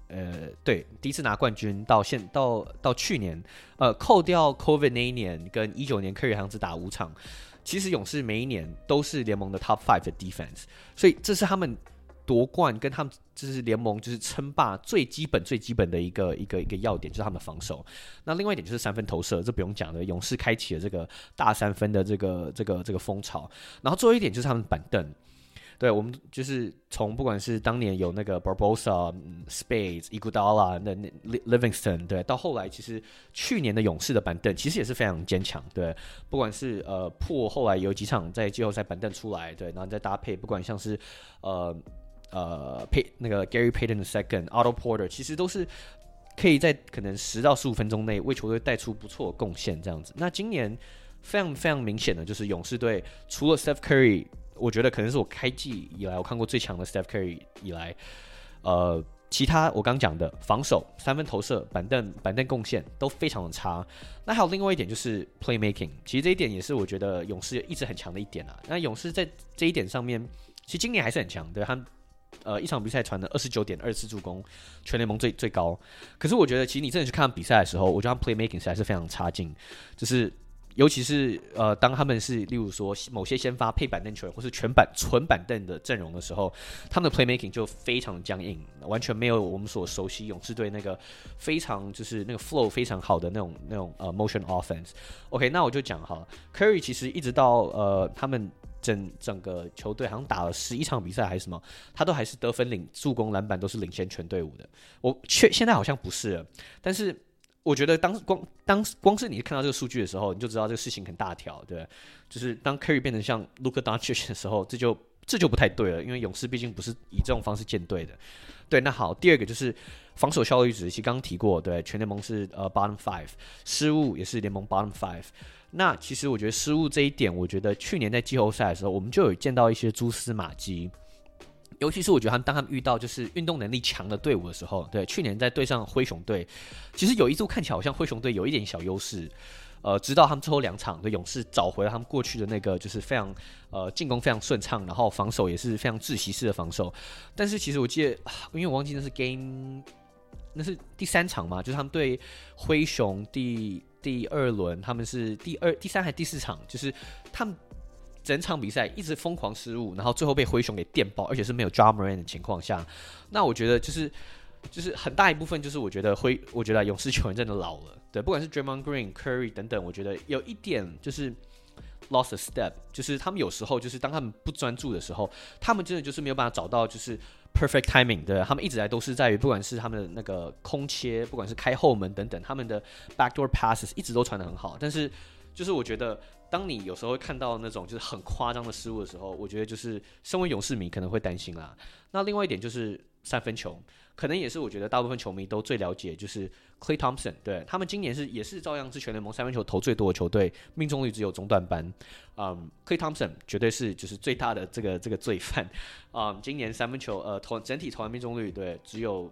對，第一次拿冠軍到去年，扣掉 COVID 那一年跟19年 Curry 好像只打5場，其實勇士每一年都是聯盟的 Top 5的 defense， 所以這是他們奪冠跟他們就是聯盟就是稱霸最基本的一個要點，就是他們的防守。那另外一點就是三分投射，這不用講的，勇士開啟了這個大三分的這個風潮。然後最後一點就是他們板凳。對，我們就是從不管是當年有那個 Barbosa、Spades、Iguodala、Livingston， 對，到後來其實去年的勇士的板凳其實也是非常堅強，对，不管是破後來有幾場在季後賽板凳出來，對，然後再搭配不管像是那個 Gary Payton II、Otto Porter， 其實都是可以在可能10到15分鐘內為球隊帶出不錯的貢獻這樣子。那今年非常非常明顯的就是勇士隊除了 Steph Curry，我覺得可能是我開季以來我看過最強的 Steph Curry 以來，其他我剛講的防守、三分投射、板凳貢獻都非常的差。那還有另外一點就是 playmaking， 其實這一點也是我覺得勇士一直很強的一點啊。那勇士在這一點上面，其實今年還是很強，對，他一場比賽傳了29.24助攻，全聯盟最高。可是我覺得其實你真的去看比賽的時候，我覺得他們 playmaking 實在是非常差勁，就是。尤其是當他們是例如說某些先發配板凳球員或是纯板凳的陣容的時候，他們的 playmaking 就非常僵硬，完全沒有我們所熟悉勇士隊那個非常就是那個 flow 非常好的那種motion offense。OK， 那我就講哈 ，Curry 其實一直到他們整個球隊好像打了11場比賽還是什麼，他都還是得分助攻籃板都是領先全隊伍的。現在好像不是了，但是。我覺得光是你看到這個數據的時候，你就知道這個事情很大條，對，就是當 Curry 變成像 Luka Doncic 的時候，這就不太對了，因為勇士畢竟不是以這種方式建隊的。對，那好，第二個就是防守效率值，其實剛剛提過，對，全聯盟是bottom 5， 失誤也是聯盟 bottom 5。那其實我覺得失誤這一點，我覺得去年在季後賽的時候，我們就有見到一些蛛絲馬跡。尤其是我覺得當他們遇到就是運動能力強的隊伍的時候，對，去年在對上灰熊隊，其實有一度看起來好像灰熊隊有一點小優勢，直到他們最後2場的勇士找回了他們過去的那個就是非常進攻非常順暢，然後防守也是非常窒息式的防守。但是其實我記得，因為我忘記那是那是第3場嘛，就是他們對灰熊第2輪，他們是第3還是第4場，就是他們。整場比賽一直瘋狂失誤，然後最後被灰熊給電爆，而且是沒有 Ja Morant 的情況下，那我覺得就是很大一部分就是我覺得勇士球員真的老了，對，不管是 Draymond Green、Curry 等等，我覺得有一點就是 lost a step， 就是他們有時候就是當他們不專注的時候，他們真的就是沒有辦法找到就是 perfect timing， 對，他們一直來都是在於不管是他們的那個空切，不管是開後門等等，他們的 backdoor passes 一直都傳得很好，但是就是我覺得。當你有時候會看到那種就是很誇張的失誤的時候，我覺得就是身為勇士迷可能會擔心啦。那另外一點就是三分球，可能也是我覺得大部分球迷都最了解，就是 Klay Thompson， 對，他們今年也是照樣是全聯盟三分球投最多的球隊，命中率只有中段班。Klay Thompson 絕對是就是最大的這個罪犯。今年三分球整體投籃命中率对只有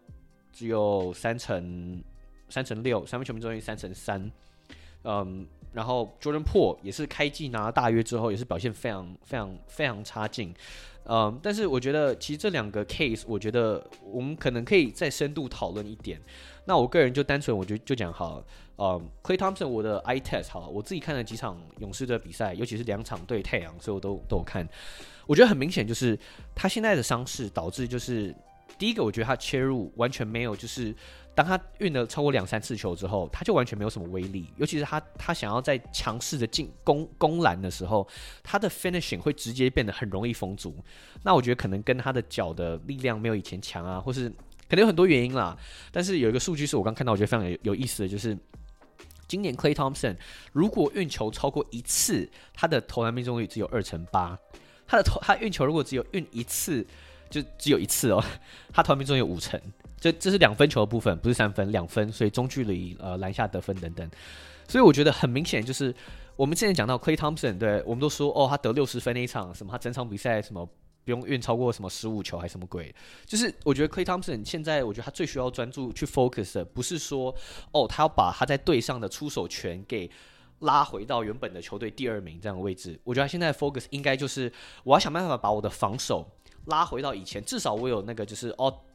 3.6%，三分球命中率3.3%。然後 Jordan Poole 也是開季拿了大約之後，也是表現非常非常非常差勁。但是我覺得其實這兩個 case， 我覺得我們可能可以再深度討論一點。那我個人就單純我覺得就講好了。Klay Thompson 我的 eye test 好了，我自己看了幾場勇士的比賽，尤其是2場對太陽，所以我都有看。我覺得很明顯就是他現在的傷勢導致就是第一個，我覺得他切入完全沒有就是。當他運了超過2-3次球之後，他就完全沒有什麼威力。尤其是他想要在強勢的攻籃的時候，他的 finishing 會直接變得很容易封阻。那我覺得可能跟他的腳的力量沒有以前強啊，或是可能有很多原因啦。但是有一個數據是我剛看到，我覺得非常有意思的，就是今年 Klay Thompson 如果運球超過1次，他的投籃命中率只有2.8%。他運球如果只有運1次，就只有1次哦，他投籃命中率有5%。這是2分球的部分，不是3分，2分，所以中距離籃下得分等等，所以我覺得很明顯就是我們之前講到 Klay Thompson， 對，我們都說他得60分那一場，什麼他整場比賽什麼不用運超過什麼15球還是什麼鬼，就是我覺得 Klay Thompson 現在我覺得他最需要專注去 focus 的，不是說他要把他在隊上的出手權給拉回到原本的球隊第2名這樣的位置，我覺得他現在的 focus 應該就是我要想辦法把我的防守拉回到以前，至少我有那個就是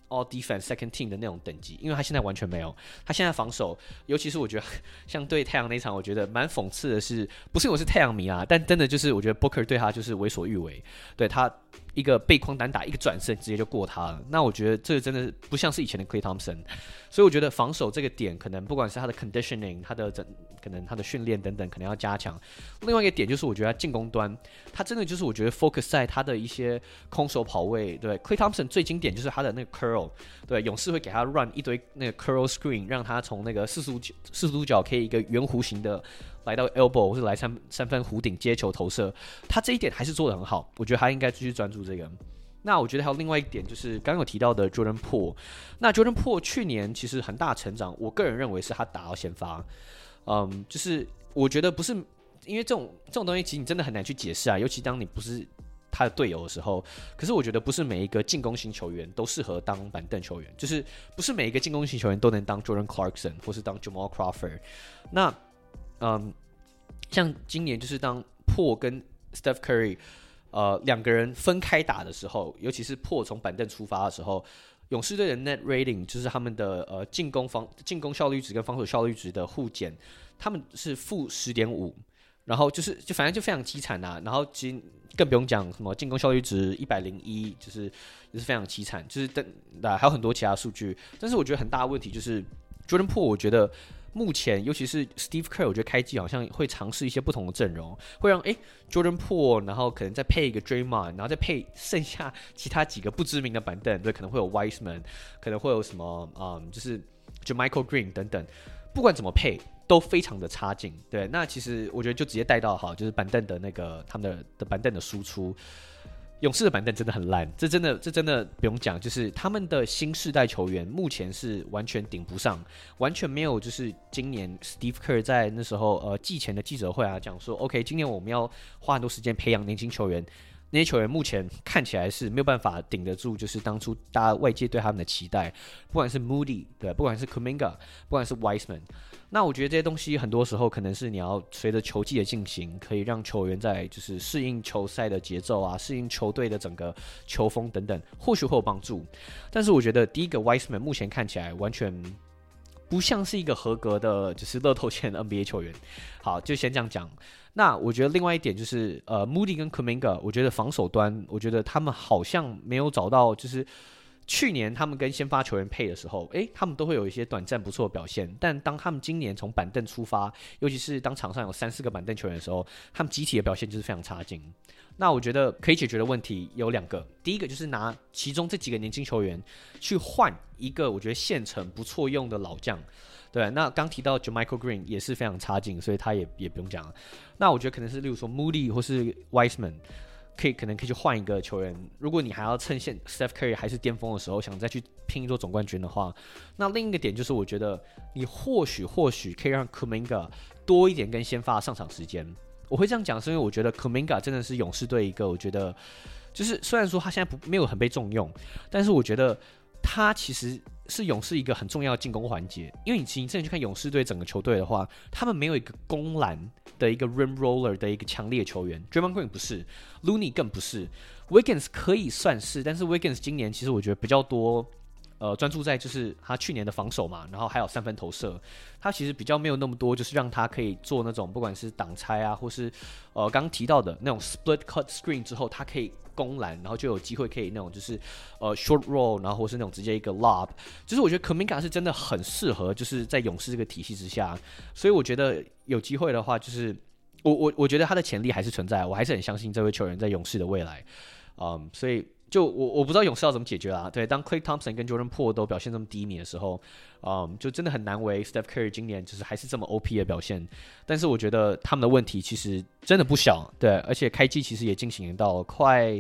All Defense Second Team 的那種等級，因為他現在完全沒有。他現在防守，尤其是我覺得像對太陽那一場，我覺得蠻諷刺的是，不是我是太陽迷啊，但真的就是我覺得 Booker 對他就是為所欲為，對他一個背框單打一個轉身直接就過他了。那我覺得這個真的不像是以前的 Klay Thompson， 所以我覺得防守這個點可能不管是他的 conditioning， 可能他的訓練等等可能要加強。另外一個點就是我覺得他進攻端，他真的就是我覺得 focus 在他的一些空手跑位。對 Klay Thompson 最經典就是他的那個 curl， 對勇士會給他 run 一堆那個 curl screen， 讓他從那個四十度角可以一個圓弧形的來到 elbow 或是來三分弧頂接球投射，他這一點還是做得很好，我覺得他應該繼續專注這個。那我覺得還有另外一點就是剛剛有提到的 Jordan Poole， 那 Jordan Poole 去年其實很大成長，我個人認為是他打到先發，就是我覺得不是因為這種東西其實你真的很難去解釋啊，尤其當你不是他的隊友的時候。可是我覺得不是每一個進攻型球員都適合當板凳球员，就是不是每一個進攻型球員都能當 Jordan Clarkson 或是當 Jamal Crawford。那像今年就是当Poole跟 Steph Curry 两個人分開打的時候，尤其是Poole從板凳出發的時候，勇士隊的 net rating 就是他們的進攻效率值跟防守效率值的互減，他們是負 10.5， 然後就反正就非常淒慘啊。然後其實更不用講什麼進攻效率值101，就是也是非常淒慘，就是還有很多其他數據。但是我覺得很大的問題就是 Jordan Poole， 我覺得目前尤其是 Steve Kerr， 我覺得開季好像會嘗試一些不同的陣容，會讓Jordan Poole， 然後可能再配一個 Draymond， 然後再配剩下其他幾個不知名的板凳，对，可能會有 Wiseman， 可能會有什麼就是Jermichael Green 等等，不管怎麼配都非常的差勁，對。那其實我覺得就直接帶到好，就是板凳的那個他們的板凳的輸出。勇士的板凳真的很爛，这真的不用講，就是他們的新世代球員目前是完全頂不上，完全沒有就是今年 Steve Kerr 在那時候季前的記者會啊講說 ，OK， 今年我們要花很多時間培養年輕球員，那些球員目前看起來是沒有辦法頂得住，就是當初大家外界對他們的期待，不管是 Moody， 對，不管是 Kuminga， 不管是 Wiseman。那我覺得這些東西很多時候可能是你要隨着球季的進行，可以讓球員在就是適應球賽的節奏啊，適應球隊的整個球風等等，或許會有幫助。但是我覺得第一個 Wiseman 目前看起來完全不像是一個合格的，就是樂透簽的 NBA 球員。好，就先這樣講。那我覺得另外一點就是Moody 跟 Kuminga， 我覺得防守端，我覺得他們好像沒有找到就是。去年他們跟先發球員配的時候，他們都會有一些短暫不錯的表現。但當他們今年從板凳出發，尤其是當場上有3-4個板凳球員的時候，他們集體的表現就是非常差勁。那我覺得可以解決的問題有2個，第一個就是拿其中這幾個年輕球員去換一個我覺得現成不錯用的老將。對，那剛提到 Jermichael Green 也是非常差勁，所以他也不用講了。那我覺得可能是例如說 Moody 或是 Wiseman。可能可以去換一個球員。如果你還要趁現 Steph Curry 還是巔峰的時候，想再去拼一座總冠軍的話，那另一個點就是，我覺得你或許可以讓 Kuminga 多一點跟先發上場時間。我會這樣講，是因為我覺得 Kuminga 真的是勇士隊一個，我覺得就是雖然說他現在沒有很被重用，但是我覺得他其實是勇士一個很重要的進攻環節。因為你真的去看勇士隊整個球隊的話，他們沒有一個攻籃的一個 rim roller 的一個強烈球員 ，Draymond Green 不是 ，Looney 更不是 ，Wiggins 可以算是，但是 Wiggins 今年其實我覺得比較多，專注在就是他去年的防守嘛，然後還有3分投射，他其實比較沒有那麼多，就是讓他可以做那種不管是擋拆啊，或是剛剛提到的那種 split cut screen 之後，他可以攻籃，然後就有機會可以那種就是short roll， 然後或是那種直接一個 lob， 就是我覺得 Kuminga 是真的很適合，就是在勇士這個體系之下，所以我覺得有機會的話，就是我覺得他的潛力還是存在，我還是很相信這位球員在勇士的未來，所以就我不知道勇士要怎麼解決啦。對，當 Klay Thompson 跟 Jordan Poole 都表現這麼低迷的時候，就真的很難為 Steph Curry 今年就是還是這麼 OP 的表現。但是我覺得他們的問題其實真的不小，對，而且開季其實也進行到快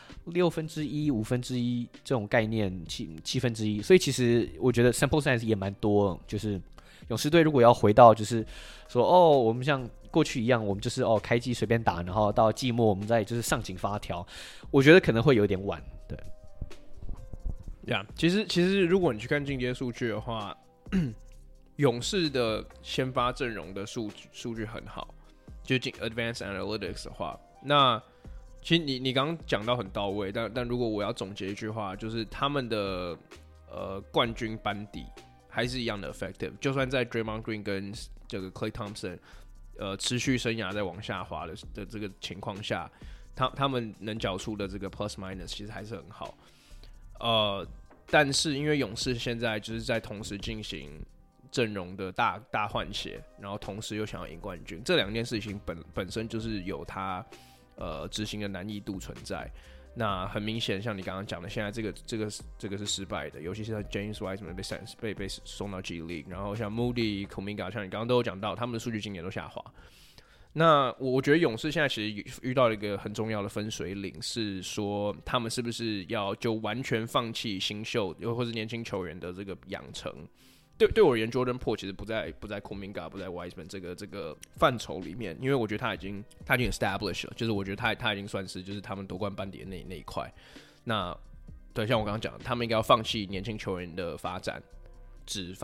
1/6、1/5這種概念，1/7，所以其實我覺得 sample size 也蠻多，就是勇士隊如果要回到就是說我們像過去一樣，我們就是開季隨便打，然後到季末我們再就是上緊發條，我覺得可能會有點晚。對， 其實如果你去看進階數據的話，勇士的先發陣容的數據很好，就進 Advanced Analytics 的話，那其實你剛剛講到很到位，但如果我要總結一句話，就是他們的冠軍班底還是一樣的 effective， 就算在 Draymond Green 跟這個 Klay Thompson 持續生涯在往下滑的這個情況下，他們能繳出的這個 plus minus 其實還是很好。但是因為勇士現在就是在同時進行陣容的大換血，然後同時又想要贏冠軍，這兩件事情本身就是有它執行的難易度存在。那很明顯，像你剛剛講的，現在這個是失敗的，尤其是像 James Wiseman 被送到 G League， 然後像 Moody、Kuminga， 像你剛剛都有講到，他們的數據今年都下滑。那我覺得勇士现在其實遇到了一個很重要的分水嶺，是說他們是不是要就完全放棄新秀又或是年輕球員的這個養成？對我而言 ，Jordan Poole 其實不在 Kuminga 不在 Wiseman 這個範疇裡面，因為我覺得他已經 established 了，就是我覺得他已經算是就是他們奪冠班底的那一塊。那對，像我剛剛講，他們應該要放棄年輕球員的發展。只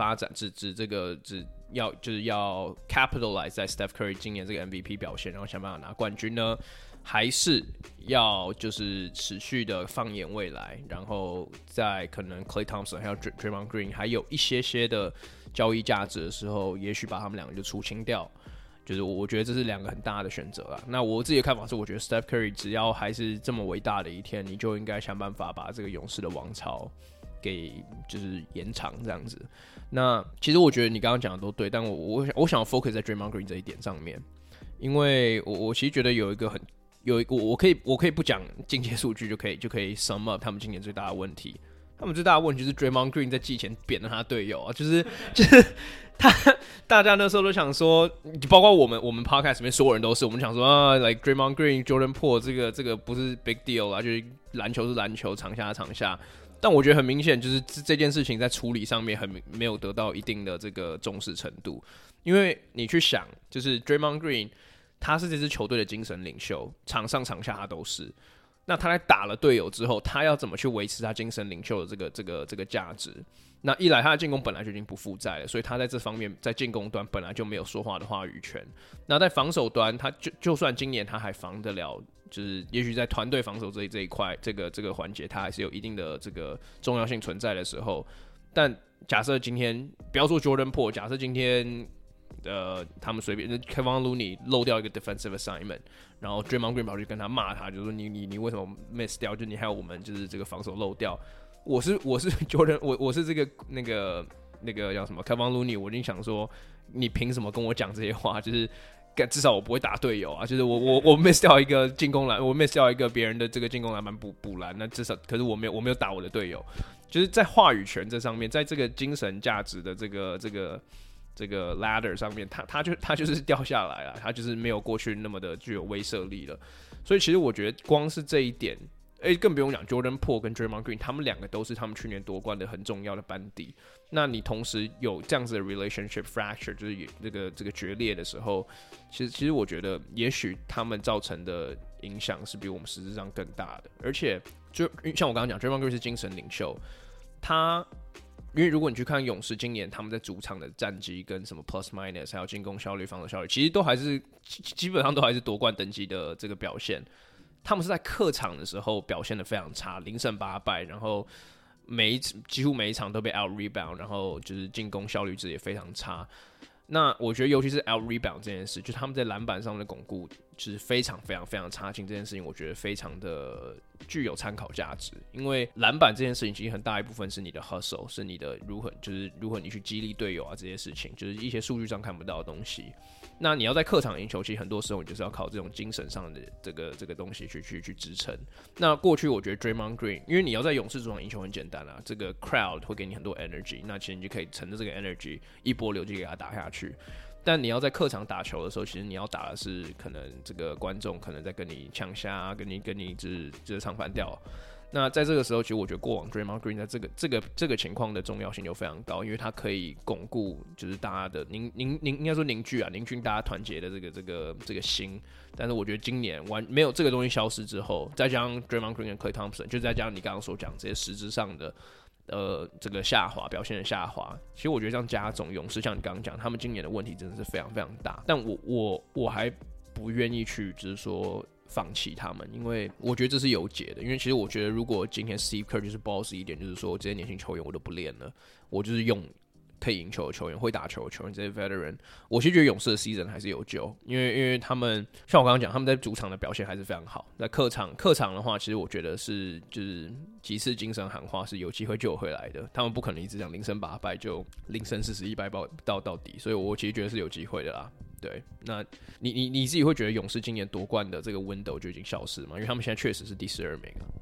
要 capitalize 在 Steph Curry 今年這個 MVP 表現，然後想辦法拿冠軍呢？還是要就是持續的放眼未來，然後在可能 Klay Thompson 還有 Draymond Green 還有一些的交易價值的時候，也許把他們兩個就出清掉。就是我覺得這是兩個很大的選擇啦。那我自己的看法是，我覺得 Steph Curry 只要還是這麼偉大的一天，你就應該想辦法把這個勇士的王朝給就是延長這樣子。那其實我覺得你剛剛講的都對，但我想要 focus 在 Draymond Green 這一點上面，因為我其實覺得有一個我可以不講进階數据就可以 sum up 他們今年最大的問題。他們最大的問題就是 Draymond Green 在季前扁了他隊友啊，就是大家那時候都想說，包括我們 podcast 裡面所有人都是，我們想說啊 like Draymond Green、Jordan Poole 這個不是 big deal 啊，就是籃球是籃球，場下是場下。但我覺得很明顯，就是這件事情在處理上面沒有得到一定的這個重視程度。因為你去想，就是 Draymond Green 他是這支球隊的精神領袖，場上場下他都是。那他在打了隊友之後，他要怎麼去維持他精神領袖的這個價值？那一來他的進攻本來就已經不負債了，所以他在這方面在進攻端本來就沒有說話的話語權。那在防守端，他就算今年他還防得了，就是也許在團隊防守這一塊這個環節，他還是有一定的這個重要性存在的時候。但假設今天不要說 Jordan Poole， 假設今天他們隨便 Kevon Looney 漏掉一個 defensive assignment， 然後 Draymond Green 跑去跟他罵他，就是說你為什麼 miss 掉？就你還有我們就是這個防守漏掉。我是 Jordan， 我是這個那個叫什麼 Kevon Looney， 我已經想說你憑什麼跟我講這些話？就是至少我不會打隊友啊，就是我 miss 掉一個進攻籃，我 miss 掉一個別人的這個進攻籃板補籃，那至少可是我沒有打我的隊友，就是在話語權這上面，在這個精神價值的這個 ladder 上面，他就是掉下來了，他就是沒有過去那麼的具有威懾力了。所以其實我覺得光是這一點，更不用講 Jordan Poole 跟 Draymond Green， 他們兩個都是他們去年奪冠的很重要的班底。那你同時有這樣子的 relationship fracture， 就是這個決裂的時候，其實我覺得也許他們造成的影響是比我們實質上更大的。而且就像我刚剛講 Draymond Green 是精神領袖，因為如果你去看勇士今年他們在主場的戰績跟什麼 plus minus 還有進攻效率、防守效率，其實都還是基本上都還是奪冠等級的這個表現。他們是在客場的時候表現得非常差，0勝8敗，然後幾乎每一場都被 out rebound， 然後就是進攻效率值也非常差。那我覺得尤其是 out rebound 这件事，就是他們在籃板上的巩固就是非常非常非常差勁，這件事情我覺得非常的具有參考價值。因為籃板這件事情其實很大一部分是你的 hustle， 是你的如何你去激勵隊友啊，這些事情就是一些數據上看不到的東西。那你要在客场贏球，其實很多時候你就是要靠這種精神上的這個東西去支撐。那過去我覺得 Draymond Green， 因為你要在勇士主場贏球很簡單啊，這個 crowd 會給你很多 energy， 那其實你就可以乘着這個 energy 一波流就給它打下去。但你要在客場打球的時候，其實你要打的是可能這個觀眾可能在跟你嗆下，跟你就是唱反調。那在這個時候，其實我覺得過往 Draymond Green 在這個情況的重要性就非常高，因為他可以鞏固就是大家的應該說凝聚大家團結的這個心。但是我覺得今年沒有這個東西消失之後，再加上 Draymond Green 跟 Klay Thompson， 就再加上你剛剛所講這些實質上的這個下滑表現的下滑，其實我覺得這樣加總勇士像你剛剛講，他們今年的問題真的是非常非常大。但我還不願意去就是說放棄他們，因為我覺得這是有解的。因為其實我覺得，如果今天 Steve Kerr 就是 boss 一點，就是說這些年輕球員我都不練了，我就是用可以贏球的球員、會打球的球員，這些 veteran， 我其實覺得勇士的 season 還是有救，因為他們像我剛剛講，他們在主場的表現還是非常好。在客場的話，其實我覺得是就是幾次精神喊話是有機會救回來的。他們不可能一直這樣0勝8敗就0勝41敗到底，所以我其實覺得是有機會的啦。對，那你自己會覺得勇士今年奪冠的這個 window 就已經消失嗎？因為他們現在確實是第12名啊。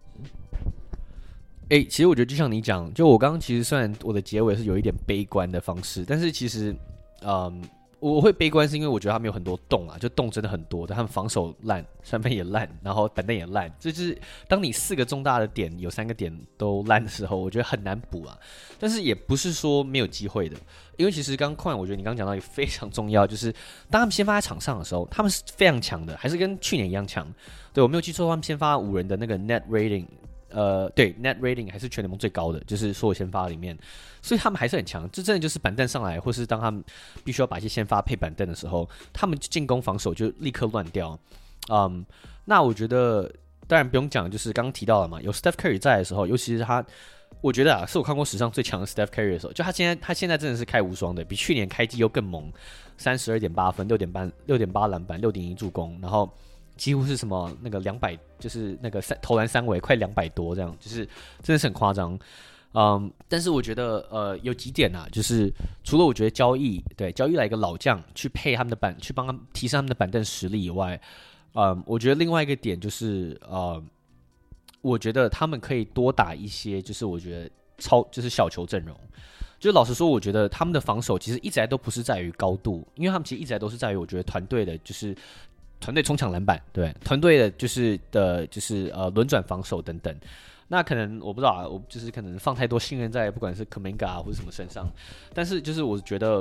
其實我覺得就像你講，就我剛剛其實雖然我的結尾是有一點悲觀的方式，但是其實，我會悲觀是因為我覺得他們有很多洞啊，就洞真的很多，但他們防守爛，三分也爛，然後板凳也爛，就是當你4個重大的點有3個點都爛的時候，我覺得很難補啊。但是也不是說沒有機會的，因為其實剛剛我覺得你剛剛講到也非常重要，就是當他們先發在場上的時候，他們是非常強的，還是跟去年一樣強。對，我沒有記錯，他們先發5人的那個 net rating。對 ，net rating 還是全聯盟最高的，就是所有先發裡面，所以他們還是很強。這真的就是板凳上來，或是當他們必須要把一些先發配板凳的時候，他們進攻防守就立刻亂掉。那我覺得當然不用講，就是剛剛提到了嘛，有 Steph Curry 在的時候，尤其是他，我覺得啊，是我看過史上最強的 Steph Curry 的時候，就他現在真的是開無雙的，比去年開季又更猛，32.8分，6.8籃板，6.1助攻，然後。幾乎是什麼那個200，就是那個投籃3圍快200多這樣，就是真的是很誇張。但是我覺得有幾點啊，就是除了我覺得交易來一個老將去配他們的去幫他們提升他們的板凳實力以外，我覺得另外一個點就是我覺得他們可以多打一些，就是我覺得就是小球陣容。就老實說，我覺得他們的防守其實一直來都不是在於高度，因為他们其實一直來都是在於我覺得團隊的就是。团队冲抢篮板，对团队的就是轮轉防守等等。那可能我不知道啊，我就是可能放太多信任在不管是 Kuminga 或者什麼身上，但是就是我覺得，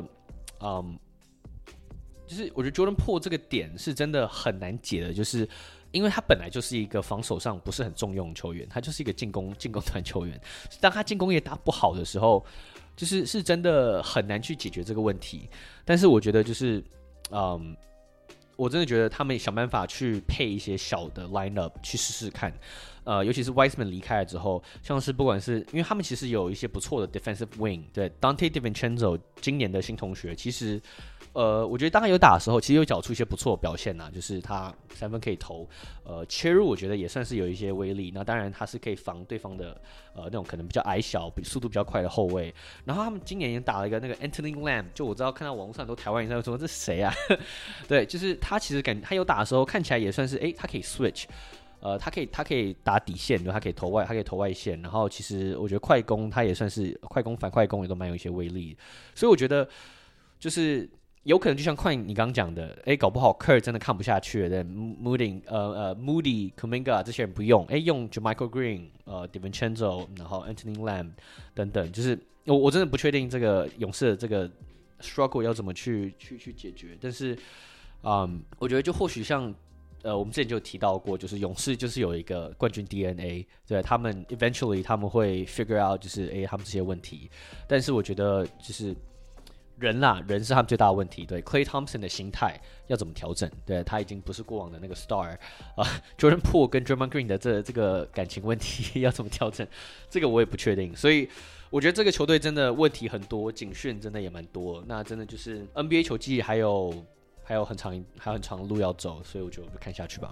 就是我覺得 Jordan Poole 這個點是真的很難解的，就是因為他本來就是一個防守上不是很重用的球員，他就是一個進攻團球員。當他進攻也打不好的時候，是真的很難去解決這個問題。但是我覺得就是我真的覺得他們想辦法去配一些小的 lineup 去試試看，尤其是 Wiseman 離開了之後，像是不管是因為他們其實有一些不錯的 defensive wing， 對 Dante DiVincenzo 今年的新同學，其實我覺得當他有打的時候，其實有繳出一些不錯的表現吶，就是他3分可以投，切入我覺得也算是有一些威力。那當然他是可以防對方的那種可能比較矮小、速度比較快的後衛。然後他們今年也打了一個那個 Anthony Lamb， 就我知道看到網絡上很多台灣人在說這是誰啊？對，就是他其實他有打的時候看起來也算是他可以 switch。他可以打底線，他可以投外線，然後其實我覺得快攻他也算是快攻反快攻也都蠻有一些威力，所以我覺得就是有可能就像你剛剛講的，搞不好 Kerr 真的看不下去了，Moody、Kuminga 這些人不用，用 Jermichael Green、DiVincenzo， 然後 Anthony Lamb 等等，就是我真的不確定這個勇士的這個 struggle 要怎麼去解決，但是我覺得就或許像。我們之前就有提到過，就是勇士就是有一個冠軍 DNA， 對，他們 eventually 他們會 figure out 就是他們這些問題，但是我覺得就是人是他們最大的問題，對 Klay Thompson 的心態要怎麼調整，對，他已經不是過往的那個 star，Jordan Poole 跟 Draymond Green 的這個感情問題要怎麼調整，這個我也不確定，所以我覺得這個球隊真的問題很多，警訊真的也蠻多，那真的就是 NBA 球季還有很長的路要走，所以我就看下去吧。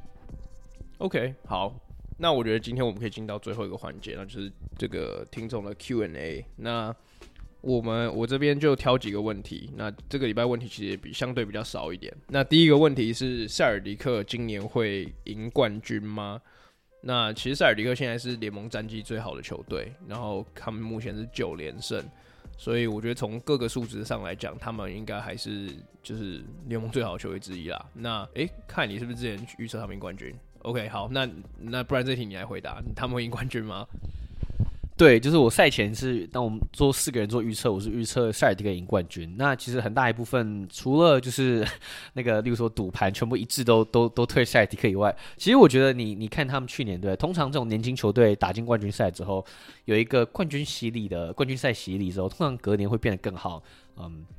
OK， 好，那我覺得今天我們可以進到最後一個環節，那就是這個聽眾的 Q&A。那我這邊就挑幾個問題，那這個禮拜問題其實也相對比較少一點。那第一個問題是塞爾迪克今年會贏冠軍嗎？那其實塞爾迪克現在是聯盟戰績最好的球隊，然後他們目前是9連勝。所以我覺得從各個數值上來講，他們應該還是就是聯盟最好的球隊之一啦。那看你是不是之前預測他們贏冠軍 ？OK， 好，那不然這題你來回答，他們會贏冠軍嗎？ 對，就是我賽前是當我們做4個人做預測，我是預測塞爾迪克贏冠軍。那其實很大一部分，除了就是那個，例如說賭盤全部一致都推塞爾迪克以外，其實我覺得你看他們去年對，通常這種年輕球隊打進冠軍賽之後，有一個冠軍賽洗禮之後，通常隔年會變得更好。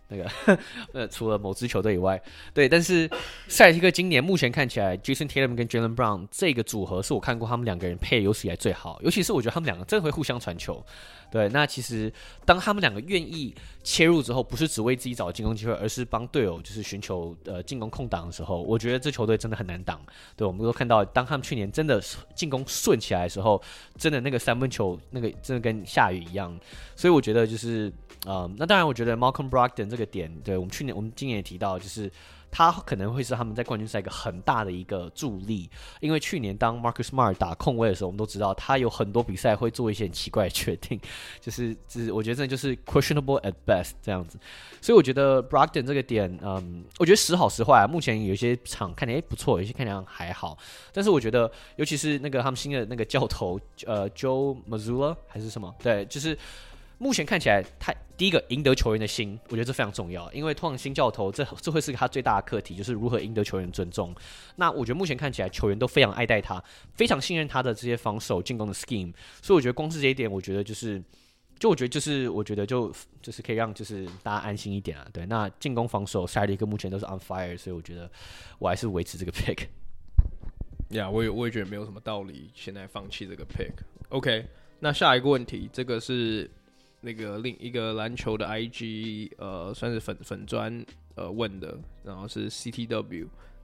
那個除了某支球隊以外，對，但是塞爾提克今年目前看起來 ，Jason Tatum 跟 Jaylen Brown 這個組合是我看過他們兩個人配有史以來最好，尤其是我覺得他們兩個真的會互相傳球。對，那其實當他們兩個願意切入之後，不是只為自己找進攻機會，而是幫隊友就是尋求進攻空檔的時候，我覺得這球隊真的很難擋。對，我們都看到，當他們去年真的進攻順起來的時候，真的那個三分球那個真的跟下雨一樣。所以我覺得就是那當然我覺得 Malcolm Brogdon 這個點，對，我們今年也提到，就是他可能會是他們在冠軍賽一個很大的一個助力，因為去年當 Marcus Smart 打控衛的時候，我們都知道他有很多比賽會做一些很奇怪的決定，就是我覺得真的就是 questionable at best 這樣子。所以我覺得 Brogdon 這個點，我覺得時好時壞啊。目前有些場看起來不錯，有些看起來還好，但是我覺得尤其是那個他們新的那個教頭Joe Mazzulla 還是什麼，對，就是目前看起來他第一個贏得球員的心，我覺得這非常重要，因為通常新教頭這會是他最大的課題，就是如何贏得球員尊重。那我覺得目前看起來球員都非常愛戴他，非常信任他的這些防守進攻的 scheme， 所以我覺得光是這一點，我覺得就是可以讓就是大家安心一點啊。對，那進攻防守塞尔提克目前都是 on fire， 所以我覺得我還是維持這個 pick。 我也覺得沒有什麼道理現在放棄這個 pick。OK， 那下一個問題，這個是那個另一個籃球的 IG 算是粉專問的，然後是 CTW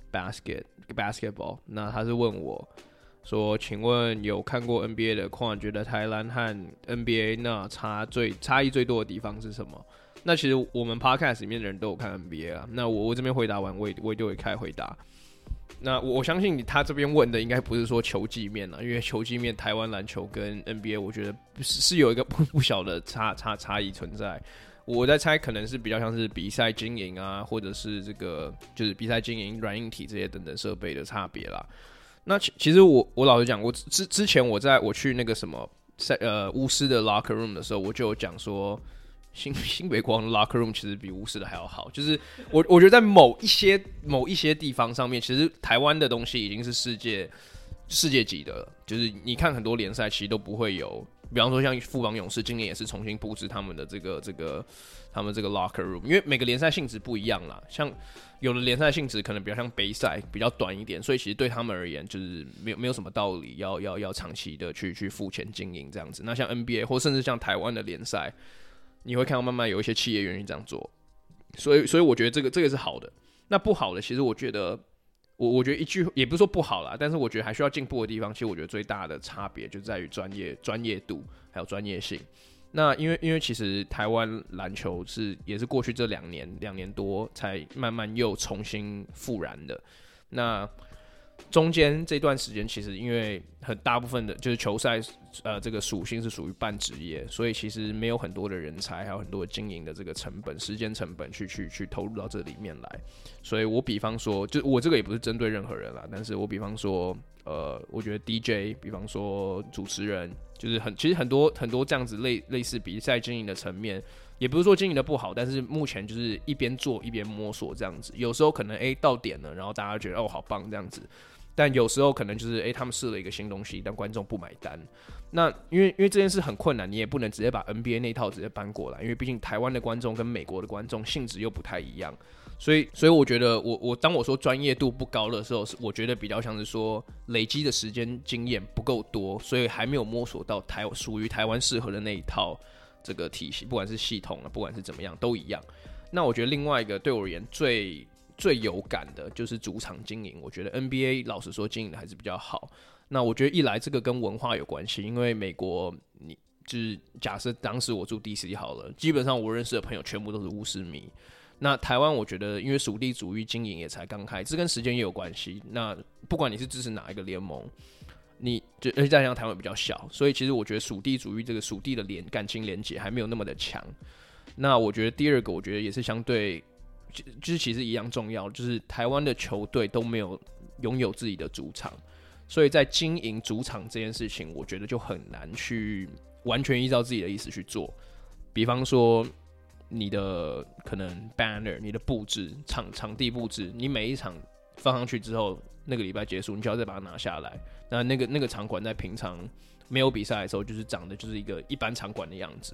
basketball， 那他是問我說，請問有看過 NBA 的況，覺得台籃和 NBA 那差異最多的地方是什麼？那其實我們 podcast 裡面的人都有看 NBA 啊，那我這邊回答完，我也就會開始回答。那我相信他這邊問的應該不是說球技面啦，因為球技面台灣籃球跟 NBA 我覺得是有一個不小的差異存在。我在猜可能是比較像是比賽經營啊，或者是這個就是比賽經營、軟硬體這些等等設備的差別啦。那其實我老實講，我之前我去那個什麼巫師的 locker room 的時候，我就有講說。新北國王的 locker room 其實比巫師的還要好，就是我覺得在某一些地方上面，其實台灣的東西已經是世界級的了。就是你看很多聯賽其實都不會有，比方說像富邦勇士今年也是重新布置他們的這個他們這個 locker room， 因為每個聯賽性質不一樣啦，像有的聯賽性質可能比較像杯賽，比較短一點，所以其實對他們而言就是沒有什麼道理要長期的去付錢經營這樣子。那像 NBA 或甚至像台灣的聯賽。你會看到慢慢有一些企業願意這樣做，所以我覺得這個是好的。那不好的，其實我覺得我覺得一句也不是說不好啦，但是我覺得還需要進步的地方，其實我覺得最大的差別就在於專業度還有專業性。那因為其實台灣籃球也是過去這兩年多才慢慢又重新復燃的。那中間這段時間，其實因為很大部分的就是球賽，這個屬性是屬於半職業，所以其實沒有很多的人才，還有很多的經營的這個成本、時間成本去投入到這裡面來。所以我比方說，就我這個也不是針對任何人啦，但是我比方說，我覺得 DJ， 比方說主持人，就是其實很多這樣子類似比賽經營的層面。也不是說經營的不好，但是目前就是一邊做一邊摸索這樣子。有時候可能到點了，然後大家覺得哦好棒這樣子，但有時候可能就是他們試了一個新東西，但觀眾不買單。那因為這件事很困難，你也不能直接把 NBA 那套直接搬過來，因為畢竟台灣的觀眾跟美國的觀眾性質又不太一樣。所以我覺得當我說專業度不高的時候，我覺得比較像是說累積的時間經驗不夠多，所以還沒有摸索到屬於台灣適合的那一套。這個體系，不管是系統啊，不管是怎麼樣，都一樣。那我覺得另外一個對我而言最有感的就是主場經營。我覺得 NBA 老實說經營的還是比較好。那我覺得一來這個跟文化有關係，因為美國你就是假設當時我住 DC 好了，基本上我認識的朋友全部都是巫師迷。那台灣我覺得因為屬地主義經營也才剛開始，這跟時間也有關係。那不管你是支持哪一個聯盟。而且再加上台灣比較小，所以其實我覺得屬地主義這個屬地的感情連結還沒有那麼的強。那我覺得第二個，我覺得也是相對，就是其實一樣重要，就是台灣的球隊都沒有擁有自己的主場，所以在經營主場這件事情，我覺得就很難去完全依照自己的意思去做。比方說你的可能 banner、你的布置、場地布置，你每一場放上去之後，那個禮拜結束，你就要再把它拿下來。那個場館在平常沒有比賽的時候，就是長得就是一個一般場館的樣子。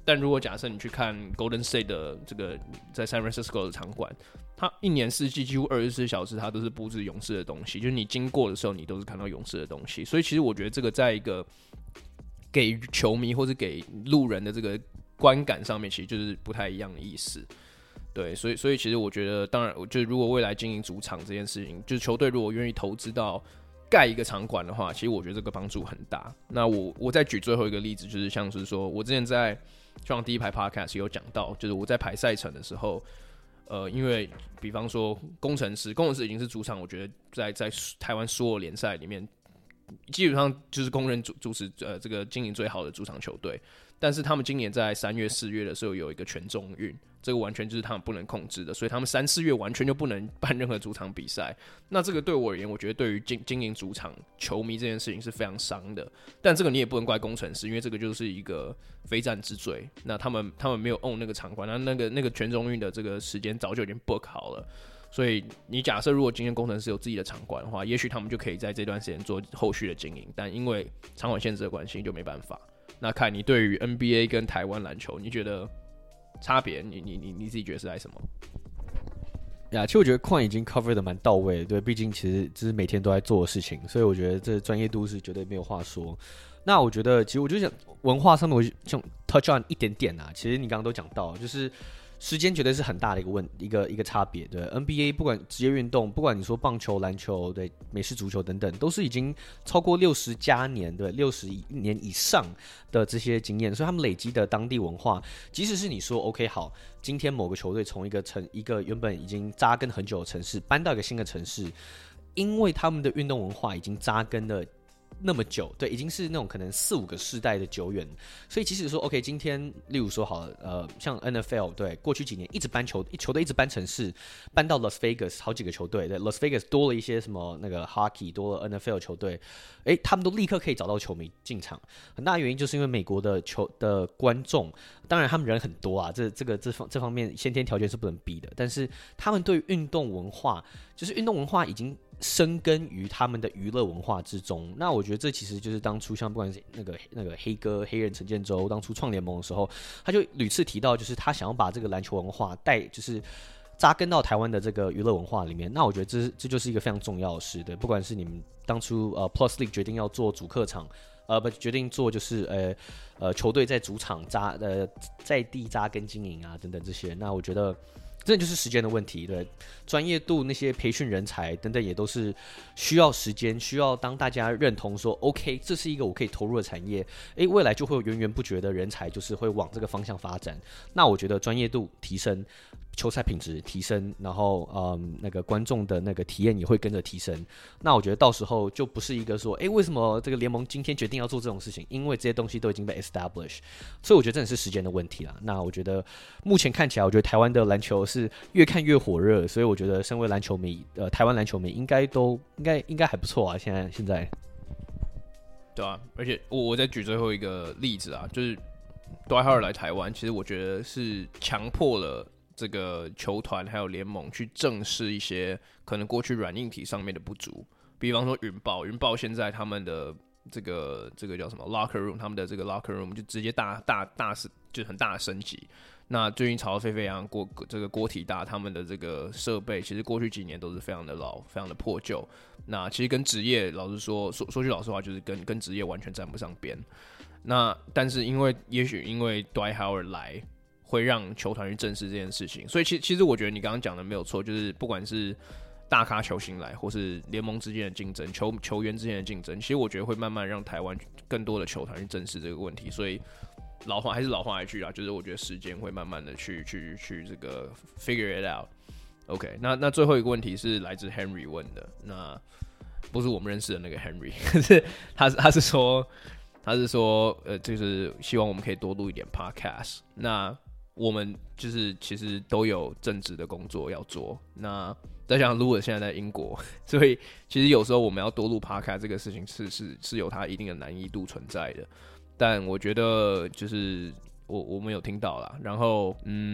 但如果假設你去看 Golden State 的這個在 San Francisco 的場館，它一年四季幾乎24小時，它都是布置勇士的東西，就是你經過的時候，你都是看到勇士的東西。所以其實我覺得這個在一個給球迷或是給路人的這個觀感上面，其實就是不太一樣的意思。對，所以其實我覺得，當然，就是如果未來經營主場这件事情，就是球隊如果願意投資到蓋一個場館的話，其實我覺得這個幫助很大。那我再舉最後一個例子，就是像是說我之前在像第一排 podcast 有講到，就是我在排賽程的時候，因為比方說工程師已經是主場，我覺得在台灣所有聯賽裡面，基本上就是公認主持這個經營最好的主場球隊。但是他們今年在3月4月的時候有一個全中運，這個完全就是他們不能控制的，所以他們3、4月完全就不能辦任何主場比賽。那這個對我而言，我覺得對於經營主場球迷這件事情是非常傷的。但這個你也不能怪工程師，因為這個就是一個非戰之罪。那他們沒有 own 那個場館，那個全中運的這個時間早就已經 book 好了。所以你假設如果今天工程師有自己的場館的話，也許他們就可以在這段時間做後續的經營，但因為場館限制的關係，就沒辦法。那看你對於 NBA 跟台灣籃球，你覺得差別？你自己覺得是在什麼？ 呀，其實我覺得Quan已經 cover 的蠻到位的，對，畢竟其實這是每天都在做的事情，所以我覺得這專業度是絕對沒有話說。那我覺得，其實我就想文化上面，我想 touch on 一點點啊。其實你剛剛都講到，就是時間絕對是很大的一個差別。對 NBA 不管職業運動，不管你說棒球、籃球、對美式足球等等，都是已經超過60加年，對60年以上的這些經驗，所以他們累積的當地文化，即使是你說 OK 好，今天某個球隊從一個原本已經扎根很久的城市搬到一個新的城市，因為他們的運动文化已經扎根了那麼久，對，已經是那種可能4、5個世代的久遠，所以即使說 OK， 今天例如說好了，像 NFL 對，過去幾年一直搬球隊一直搬城市，搬到 Las Vegas 好幾個球隊，對 Las Vegas 多了一些什麼那個 Hockey， 多了 NFL 球隊，他們都立刻可以找到球迷進場，很大的原因就是因為美國的觀眾，當然他們人很多啊，這方面先天條件是不能比的，但是他們對運動文化，就是運動文化已經深耕於他們的娛樂文化之中。那我覺得這其實就是當初像不管是那個黑哥黑人陳建州當初創聯盟的時候，他就屢次提到，就是他想要把這個籃球文化就是扎根到台灣的這個娛樂文化裡面。那我覺得這就是一個非常重要的事，對，不管是你們當初Plus League 決定要做主客場，決定做就是球隊在主場在地扎根經營啊等等這些，那我覺得這就是時間的問題，對，專業度那些培訓人才等等也都是需要時間，需要當大家認同說 OK， 這是一個我可以投入的產業，未來就會有源源不絕的人才就是會往這個方向發展。那我覺得專業度提升，球賽品質提升，然後那個觀眾的那個體驗也會跟着提升。那我覺得到時候就不是一個說為什麼這個聯盟今天決定要做這種事情，因為這些東西都已經被 establish， 所以我覺得真的是時間的問題啦。那我覺得目前看起來，我覺得台灣的籃球是越看越火熱，所以我覺得身為籃球迷，台灣籃球迷應該還不錯啊。現在， 對啊，而且我再舉最後一個例子啊，就是 Dwight Howard 來台灣，其實我覺得是強迫了這個球團還有聯盟去正視一些可能過去軟硬體上面的不足，比方說雲豹現在他們的這個叫什麼 locker room， 他們的這個 locker room 就直接就很大的升級。那最近炒得沸沸揚揚，這個國體大他們的這個設備，其實過去幾年都是非常的老，非常的破舊。那其實跟職業老實說句老實話，就是跟職業完全沾不上邊。那但是也許因為 Dwight Howard 來，會讓球團去正視這件事情。所以其實我覺得你剛剛講的沒有錯，就是不管是大咖球星來，或是聯盟之間的競爭，球員之間的競爭，其實我覺得會慢慢讓台灣更多的球團去正視這個問題。所以還是老話一句啦，就是我覺得時間會慢慢的去這個 figure it out。OK， 那最後一個問題是來自 Henry 問的，那不是我們認識的那個 Henry， 可是他是說就是希望我們可以多錄一點 podcast。那我們就是其實都有正職的工作要做，那再加上 Louis 現在在英國，所以其實有時候我們要多錄 podcast 這個事情是有它一定的難易度存在的。但我覺得就是我們有聽到啦，然後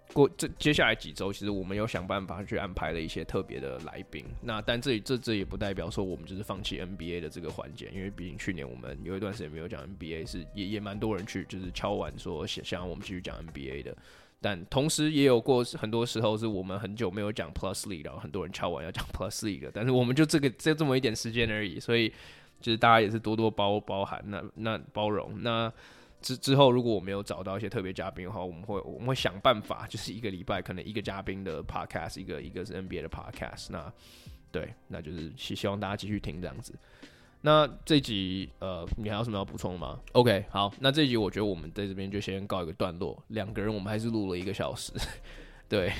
接下來幾週，其實我們有想辦法去安排了一些特別的來賓。那但這也不代表說我們就是放棄 NBA 的這個環節，因為畢竟去年我們有一段時間沒有講 NBA， 是也蠻多人去就是敲碗說想讓我們繼續講 NBA 的。但同時也有過很多時候是我們很久沒有講 Plus League， 然後很多人敲碗要講 Plus League 的，但是我們就這麼一點時間而已，所以就是大家也是多多包涵，那包容那。之後，如果我沒有找到一些特別嘉賓的話，我們會想辦法，就是一個禮拜可能一個嘉賓的 podcast， 一個是 NBA 的 podcast。那就是希望大家繼續聽這樣子。那這一集你還有什麼要補充的嗎 ？OK， 好，那這一集我覺得我們在這邊就先告一個段落。兩個人我們還是錄了1個小時，對，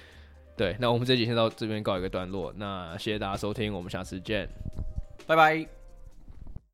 那我們這一集先到這邊告一個段落。那謝謝大家收聽，我們下次見，拜拜。